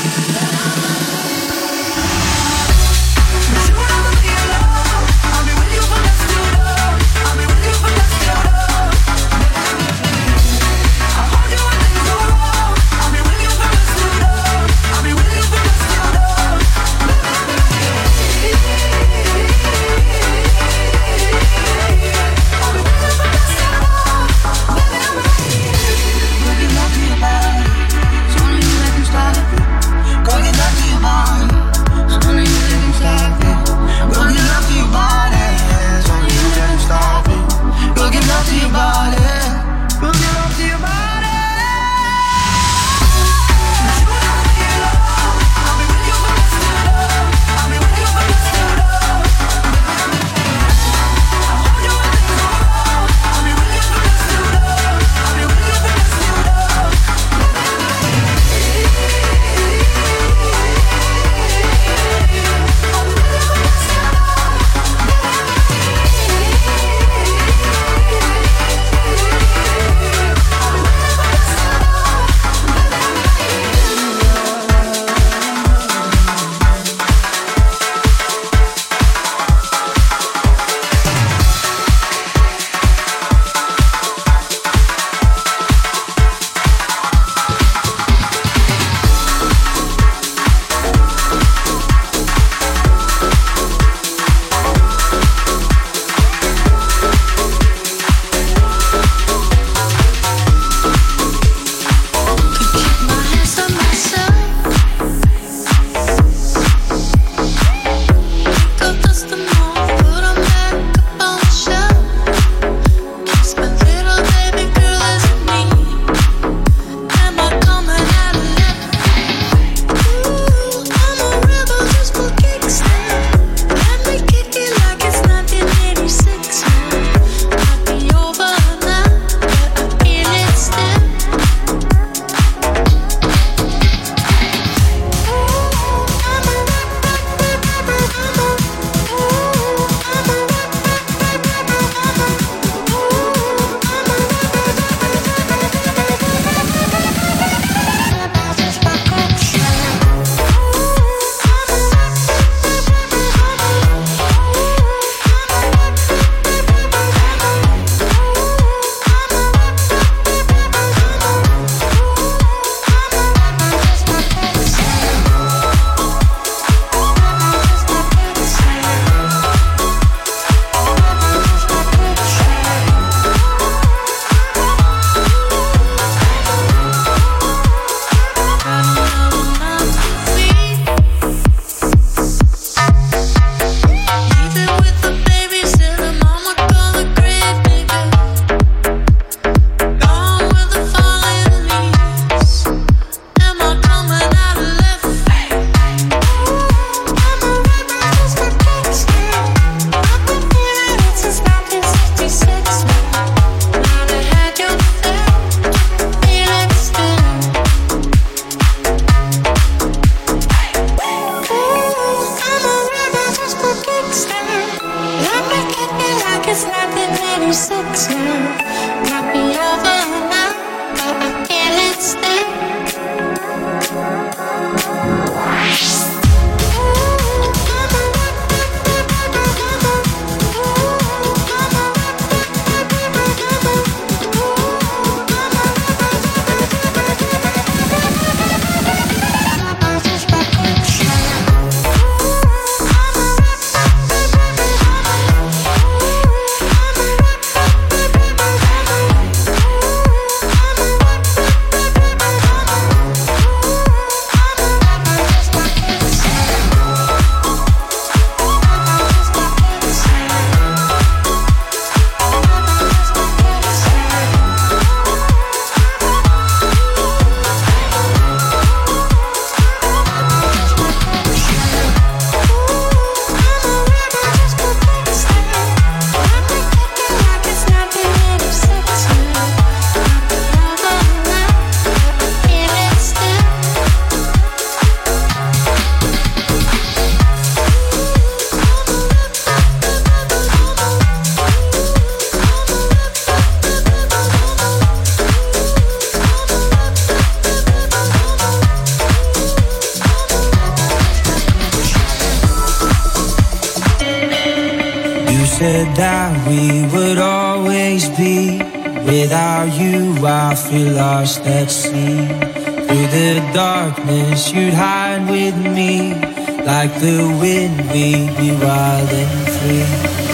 said that we would always be. Without you, I feel lost at sea. Through the darkness, you'd hide with me. Like the wind, we'd be wild and free.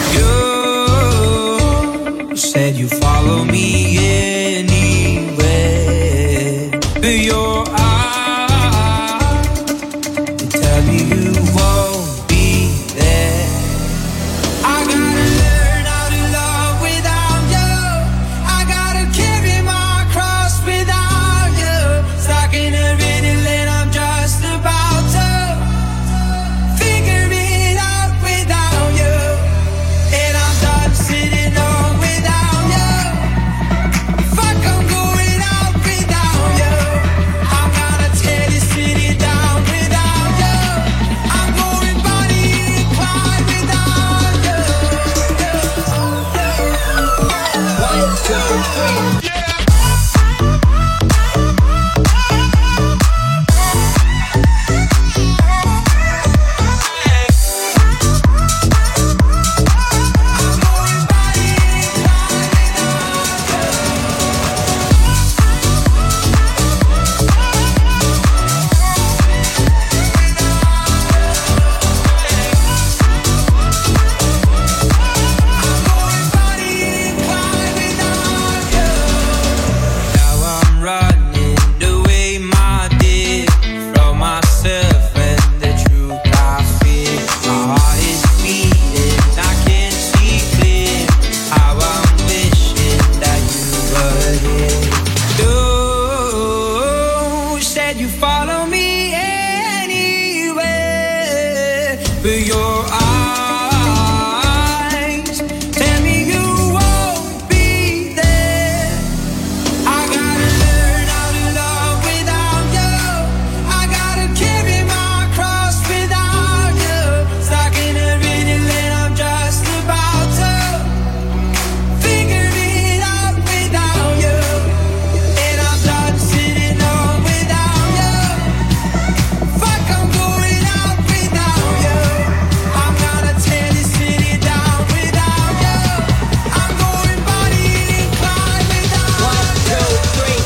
You said you'd follow me anywhere. But your eyes, they tell me you won't be there. I gotta learn how to love without you. I gotta carry my cross without you. Stuck in a riddle and I'm just about to figure it out without you. And I'm done sitting on without you. Fuck, I'm going out without you. I'm gonna tear this city down without you. I'm going Bonnie and Clyde without you. 1, 2, 3. Now I'm running away, my dear, from myself and the truth I fear. My heart is beating, I can't see clear. How I'm wishing that you were here. You said you follow me anywhere, but your eyes tell me you won't be there. I gotta learn how to love without you. I gotta carry my cross without you. Stuck in a riddle and I'm just about to figure it out without you. And I'm done sitting on without you. Fuck, I'm going out without you. I'm gonna tear this city down without you. I'm going Bonnie and Clyde without you. 1, 2, 3.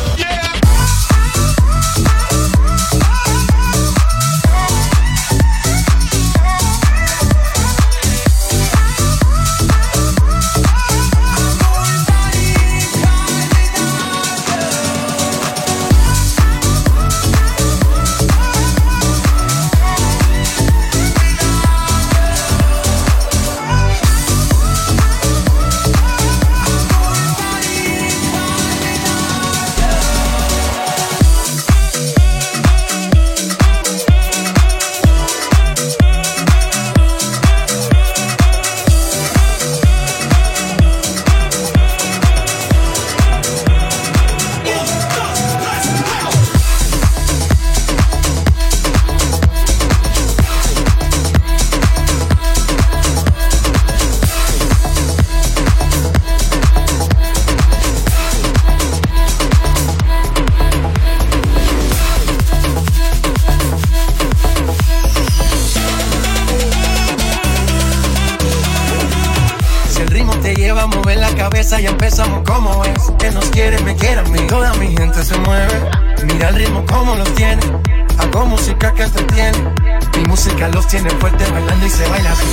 Si el ritmo te lleva a mover la cabeza, ya empezamos como es. Que nos quieren, me quieren, mi toda mi gente se mueve. Mira el ritmo como los tiene. Hago música que entretiene. Mi música los tiene fuerte bailando y se baila así.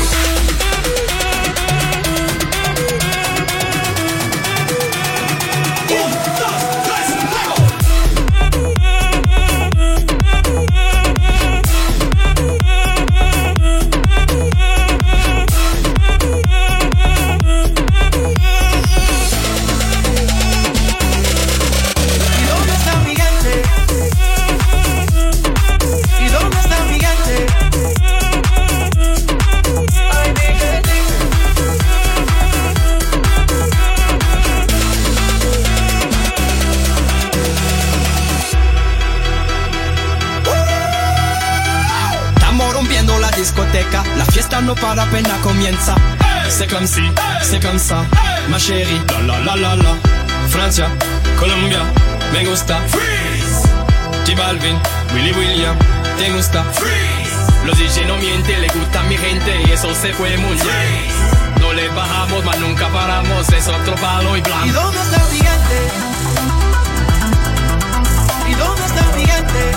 ¿Y dónde está mi gente? ¿Y dónde está mi gente? Ay, dime, dime. Estamos rompiendo la discoteca, la fiesta no para, apenas comienza. C'est comme si, c'est comme ça, ma chérie, la la la la la. Francia, Colombia, me gusta. Freeze. J Balvin, Willy William, te gusta. Freeze. Los DJ no mienten, le gusta a mi gente y eso se fue muy bien. No le le bajamos, mas nunca paramos, es otro palo y blanco. ¿Y dónde está el gigante? ¿Y dónde está el gigante?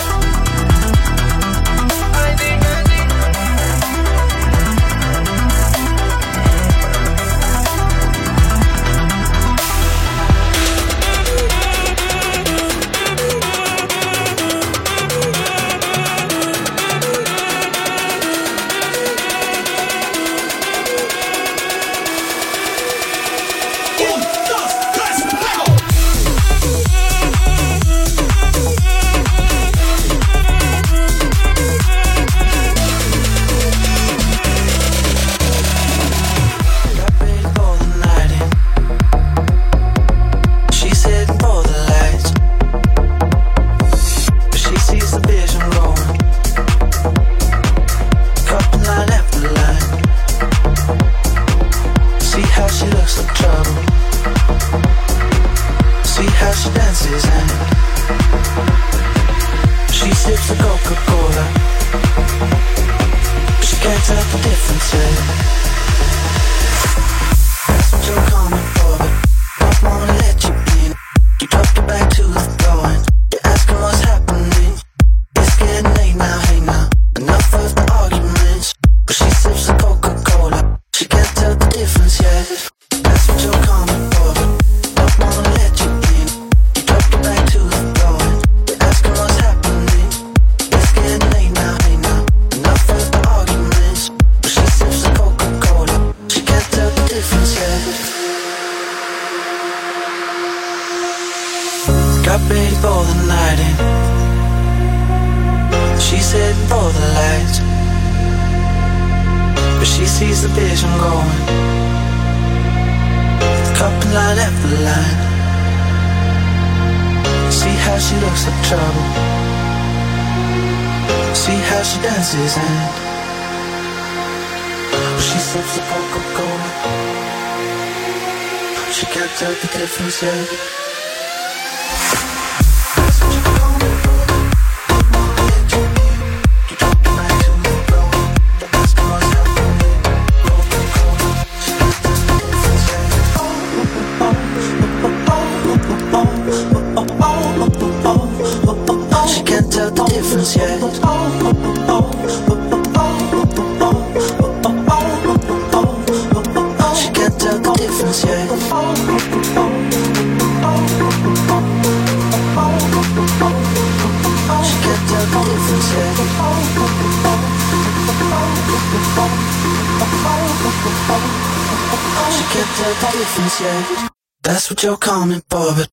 That's what you're coming for, but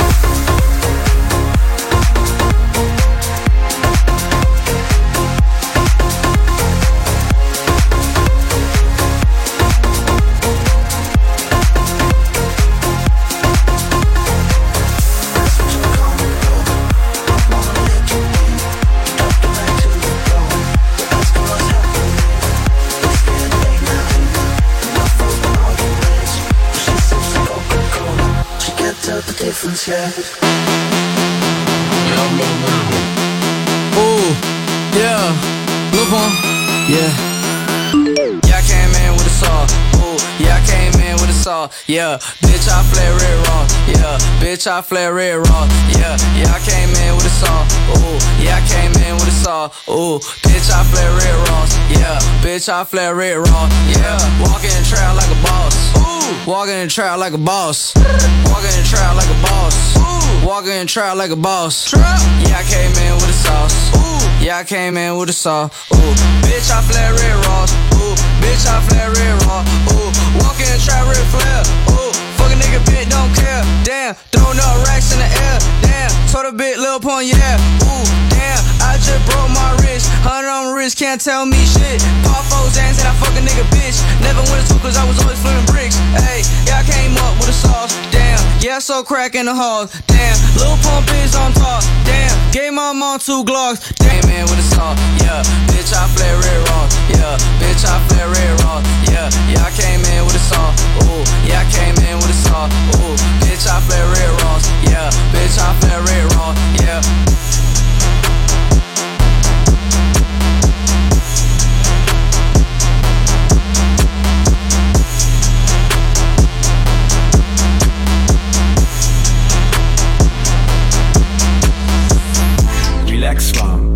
yeah. Ooh, yeah, Lil Pump, yeah. Yeah, I came in with a saw. Ooh, yeah, I came in with a saw. Yeah, bitch, I flare red raw. Yeah, bitch, I flare red raw. Yeah, yeah, I came in with a saw. Ooh, yeah, I came in with a saw. Ooh, bitch, I flare red raw. Yeah, bitch, I flare red raw. Yeah, walking in the trap like a boss. Walking in the trap like a boss. Walking in the trap like a boss. Walking in the trap like a boss. Yeah, I came in with a sauce. Yeah, I came in with a sauce. Ooh, bitch, I flare red raw. Ooh, bitch, I flare red raw. Ooh, walking in the trap red flare. Ooh, fuck a nigga, bitch, don't care. Damn, throwing up racks in the air. Damn, told a bit, Lil Pump, yeah. Ooh, damn, I just broke my wrist. 100 on my wrist, can't tell me shit. Pop foes, and I fuck a nigga, bitch. Never went to cause I was always flipping bricks. Hey, yeah, I came up with a sauce. Damn, yeah, so crack in the halls. Damn, Lil Pump is on top. Damn, gave my mom 2 Glocks. Damn, man, with a sauce. Yeah, bitch, I flare red raw. Yeah, bitch, I flare red raw. Yeah, yeah, I came in with a sauce. Ooh, yeah, I came in with a sauce. Ooh, bitch, I flare red raw. Yeah, bitch, I flare red raw. Yeah.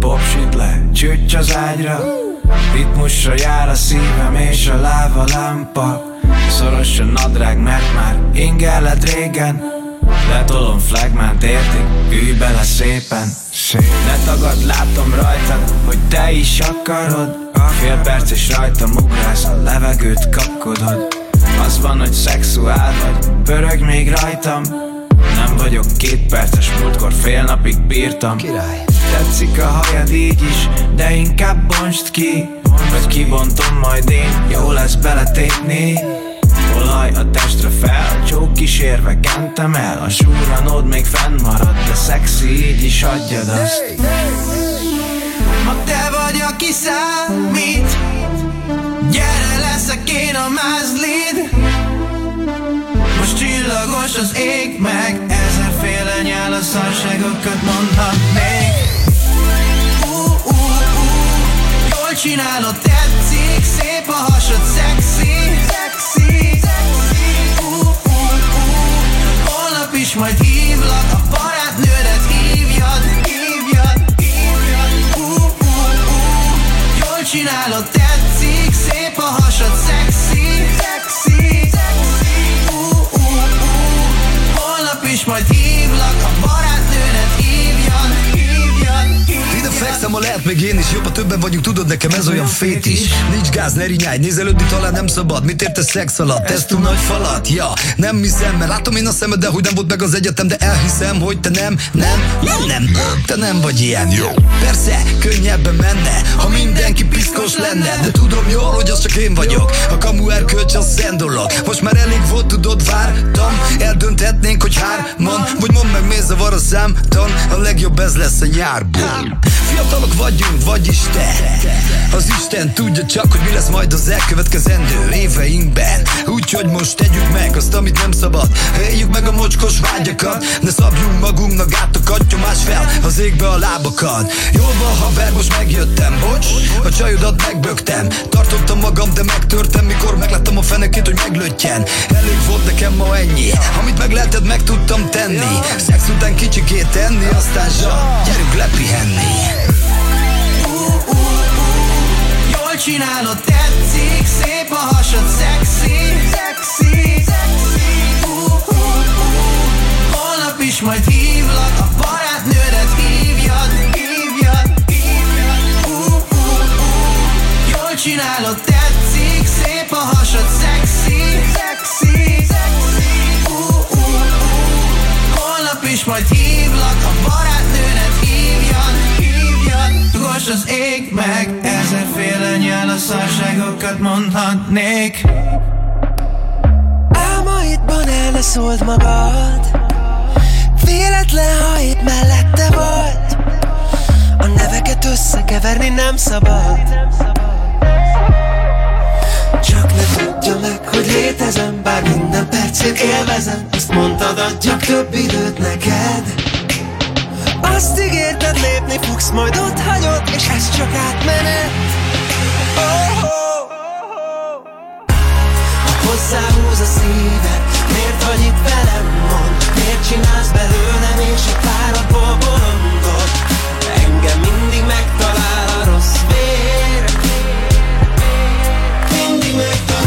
popsit le, csücs az ágyra. Ritmusra jár a szívem és a láva lámpa. Szoros a nadrág, mert már ingelled régen. Letolom flagmánt, értik, ülj bele szépen. Ne tagad, látom rajtad, hogy te is akarod. Fél perc és rajtam ugrálsz, a levegőt kapkodod. Az van, hogy szexuál vagy, pörög még rajtam. Nem vagyok 2 perces, múltkor fél napig bírtam. Király. Tetszik a hajad így is, de inkább bontsd ki. Vagy kibontom majd én, jó lesz beletépni. Olaj a testre fel, csók kísérve kentem el. A súranód még fennmarad, de szexi, így is adjad azt. Ha te vagy, aki számít, gyere, leszek én a mázlid. Most csillagos az ég meg, ezerféle nyál a szarságokat mondhatnék. Jól csinálod, tetszik, szép a hasad, szexi. Holnap is majd hívlak, a barátnődet hívjad. Jól csinálod, tetszik, szép a hasad, szexi. Holnap is majd hívlak, a barátnődet hívjad. Ide fekszem, ha lehet még én is, jobb, ha többen vagyunk, tudod, nekem ez olyan fétis. Nincs gáz, ne rinyáj, nézelődni talán nem szabad. Mit értesz szex alatt? Ez túl nagy falat? Ja, nem hiszem, mert látom én a szemed, de hogy nem volt meg az egyetem. De elhiszem, hogy te nem, te nem vagy ilyen. Jó. Persze, könnyebben menne, ha mindenki piszkos lenne. De tudom jól, hogy az csak én vagyok, a kamu erkölcs az szent dolog. Most már elég volt, tudod, vártam. Eldönthetnénk, hogy hárman, vagy mondd meg, miért zavar a számtan. A legjobb ez lesz a nyárból. Fiatalok vagyunk, vagyis te. Az Isten tudja csak, hogy mi lesz majd az elkövetkezendő éveinkben. Úgyhogy most tegyük meg azt, amit nem szabad. Éljük meg a mocskos vágyakat. Ne szabjunk magunknak gátokat, nyomás fel az égbe a lábakat. Jól van, haver, most megjöttem, bocs, a csajodat megbögtem. Tartottam magam, de megtörtem, mikor megláttam a fenekét, hogy meglöttyen. Elég volt nekem ma ennyi, amit meg lehetett, meg tudtam tenni. Szex után kicsikét tenni, aztán zsat, gyerünk lepihenni. Jól csinálod, tetszik, szép a hasad, szexi. Holnap is majd hívlak, a barátnődet hívjad. Jól csinálod, tetszik, szép a hasad, szexi. Holnap is majd hívlak, a barátnődet hívjad. Dugos az ég meg, ezerféle nyál a szarságokat mondhatnék. Álmaidban el ne szóld magad, véletlen, ha épp mellette vagy. A neveket összekeverni nem szabad. Csak ne tudja meg, hogy létezem, bár minden percét élvezem. Azt mondtad, adjak több időt neked. Azt ígérted, lépni fogsz, majd ott hagyod, és ez csak átmenet. Ha hozzáhúz a szíved, miért vagy itt velem, mondd? Miért csinálsz belőlem és a párodból bolondot? Engem mindig megtalál a rossz vér. Mindig megtalál.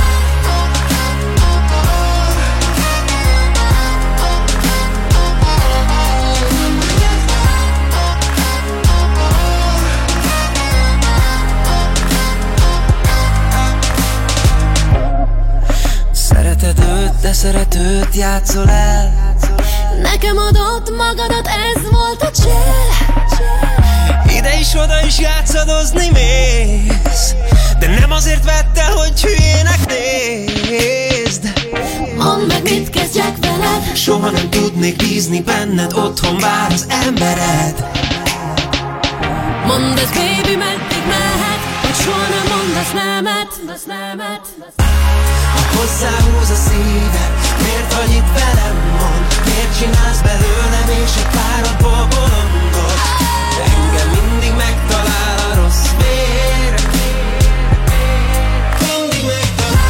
De szeretőt játszol el. Nekem adott magadat, ez volt a csel. Ide is, oda is játszadozni mész, de nem azért vettel, hogy hülyének nézd. Mondd meg, mit kezdjek veled. Soha nem tudnék bízni benned, otthon vár az embered. Mondd ez, baby, meddig mehet, hogy soha nem mondasz nemet. Ha hozzáhúz a szíved, miért vagy itt velem, mondd? Miért csinálsz belőlem és egy párodból bolondot? Engem mindig megtalál a rossz vér. Mindig megtalál.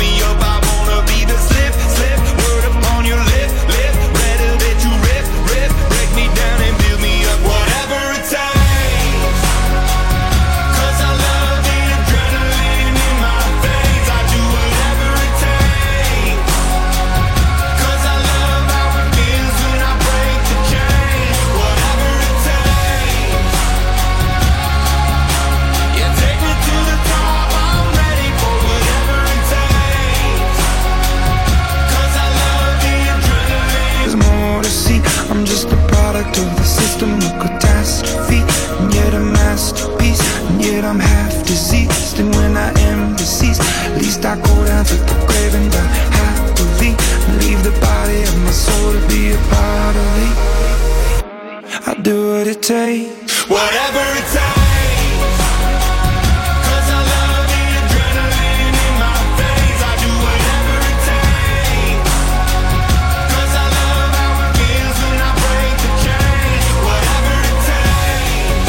whatever it takes. 'Cause I love the adrenaline in my veins. I do whatever it takes. 'Cause I love how it feels when I break the chains. Whatever it takes.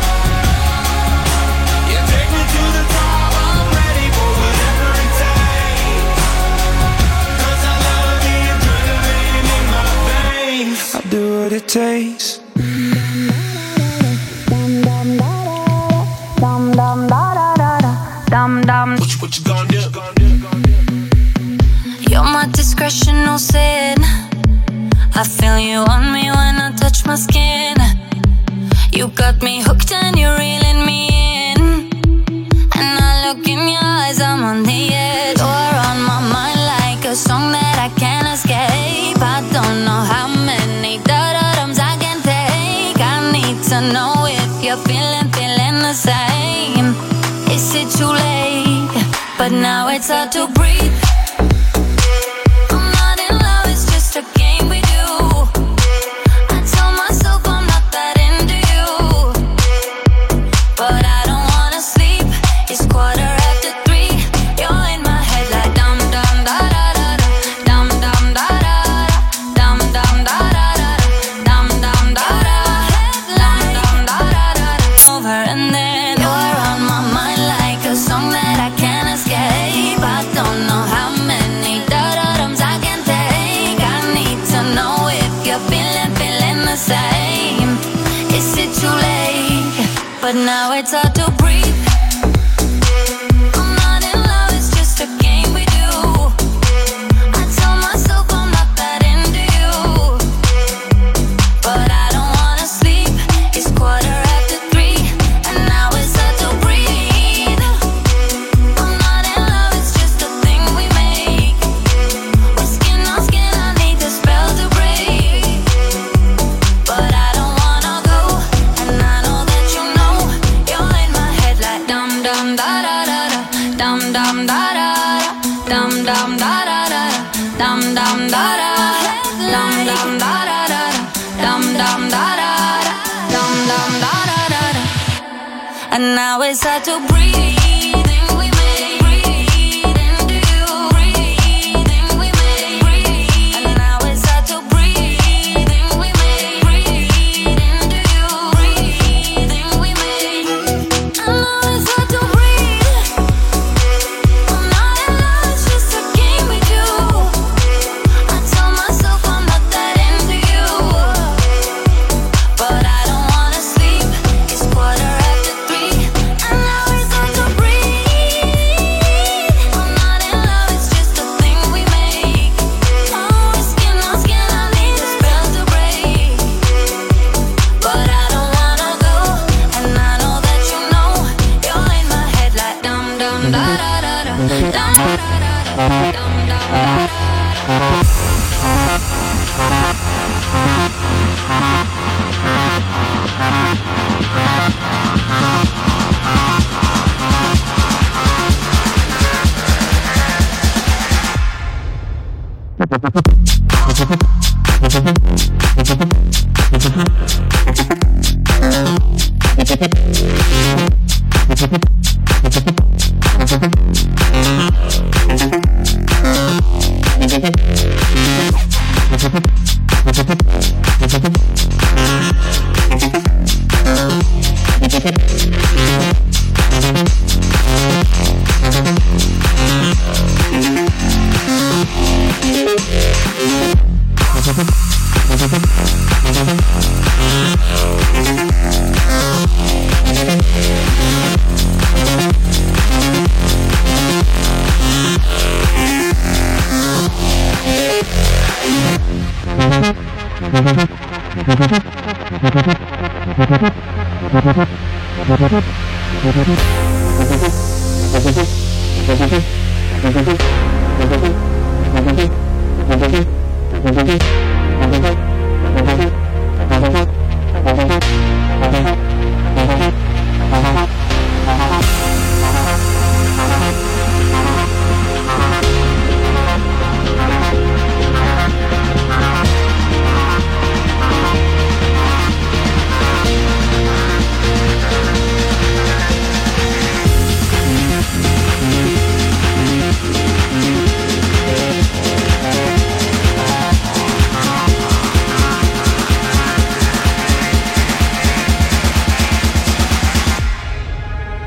You take me to the top, I'm ready for whatever it takes. 'Cause I love the adrenaline in my veins. I'll do what it takes. What you gonna do? You're my discretion, no sin. I feel you on me when I touch my skin. You got me hooked and you're reeling me in. And I look in your eyes, I'm on the edge. You're on my mind like a song that I can't escape. I don't know how many da-da-dums I can take. I need to know if you're feeling the same. Is it too late? But now it's hard to breathe. I'm not in love, it's just a game we do. I tell myself I'm not that into you, but I don't wanna sleep. It's 3:15. You're in my head like dum dum da da da da, dum dum da da da, dum dum da da da, dum dum da da, dum dum da da da. Over and then you're on my mind like a song that I can't escape. I don't know how many da-da-dums I can take. I need to know if you're feeling the same. Is it too late? But now it's hard to breathe. I'm not in love, it's just a game we do. I tell myself I'm not that into you, but I don't wanna sleep. It's 3:15, and now it's hard to breathe. I'm not in love, it's just a thing we make. We're skin on skin, I need the spell to break. But I don't wanna go, and I know that you know. You're in my head like dum dum da da da da, dum dum da da da, dum dum da da da, dum dum da da, dum dum da da da, dum dum da da da, dum dum da da da. And now it's hard to breathe. We make breathe into you. Breathing we make breathe. And now it's hard to breathe. We make breathe into you. Breathing we make. And now it's hard to breathe. I'm not in love, it's just a game we do. I tell myself I'm not that into you, but I don't wanna sleep. It's 3:15, and now it's hard to breathe. I'm not in love, it's just a thing we make. Oh, skin on skin, I need the spell to break. But I don't wanna go, and I know that you know. You're in my head like dum dum da da da da, dum da da da, dum dum da da.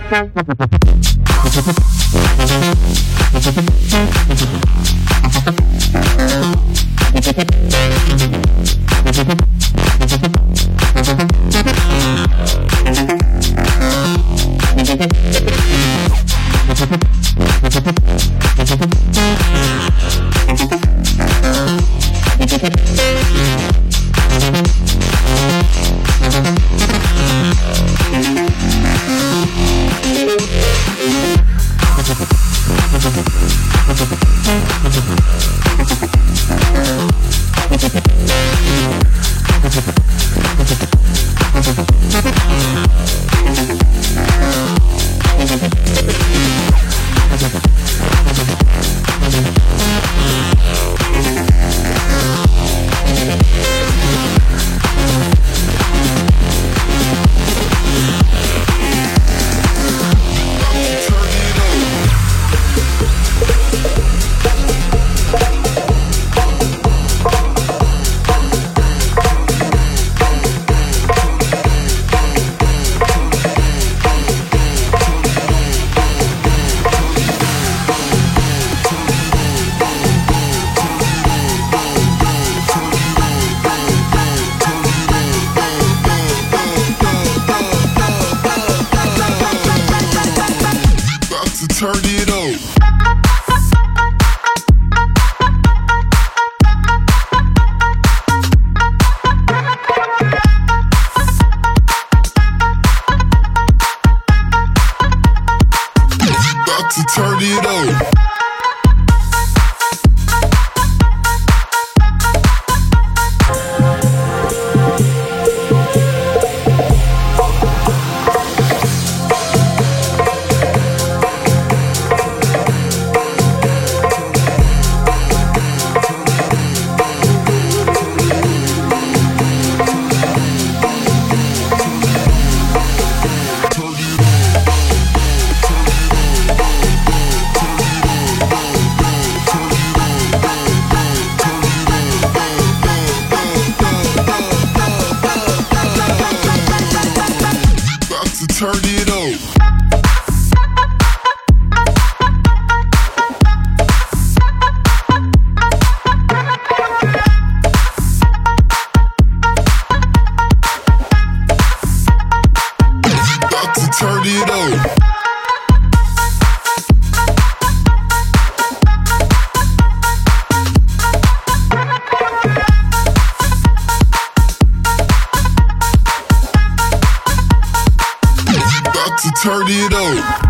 Turn it up.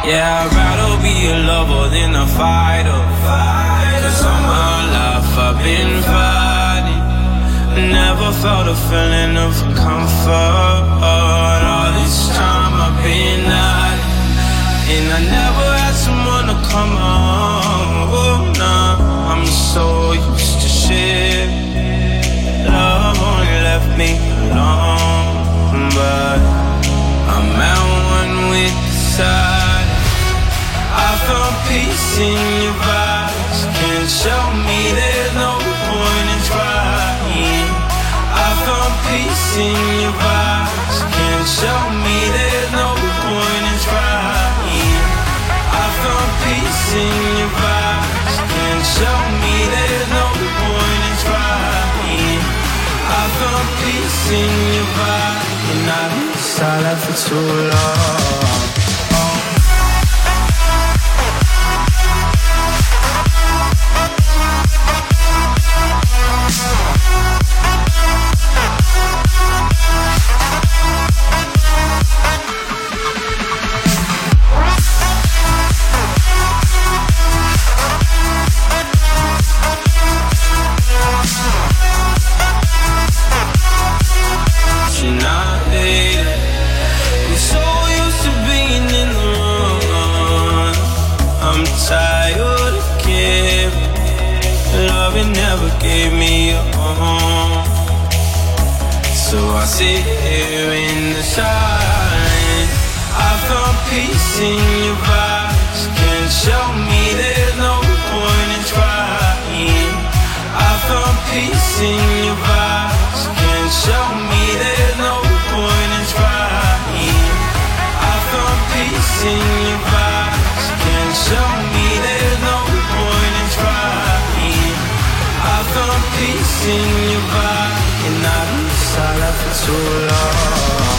Yeah, I'd rather be a lover than a fighter. Cause all my life I've been fighting. Never felt a feeling of comfort. All this time I've been hiding. And I never had someone to come home. Oh, nah, I'm so used to shit. Love only left me alone. But I'm at one with the side. I found peace in your vibes. Can't show me there's no point in trying. I found peace in your vibes. Can't show me there's no point in trying. I found peace in your vibes. Can't show me there's no point in trying. I found peace in your vibes. And I been silent for too long. Tired of giving. Love it never gave me a home. So I sit here in the silence. I found peace in your vibes. Can't show me there's no point in trying. I found peace in your vibes. Can't show me there's no point in trying. I found peace in your vibes. Can't show me there's no point in trying. I found peace in your vibe. And I've been silent for too long.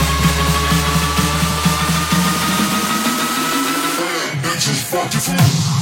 Just fuck your food.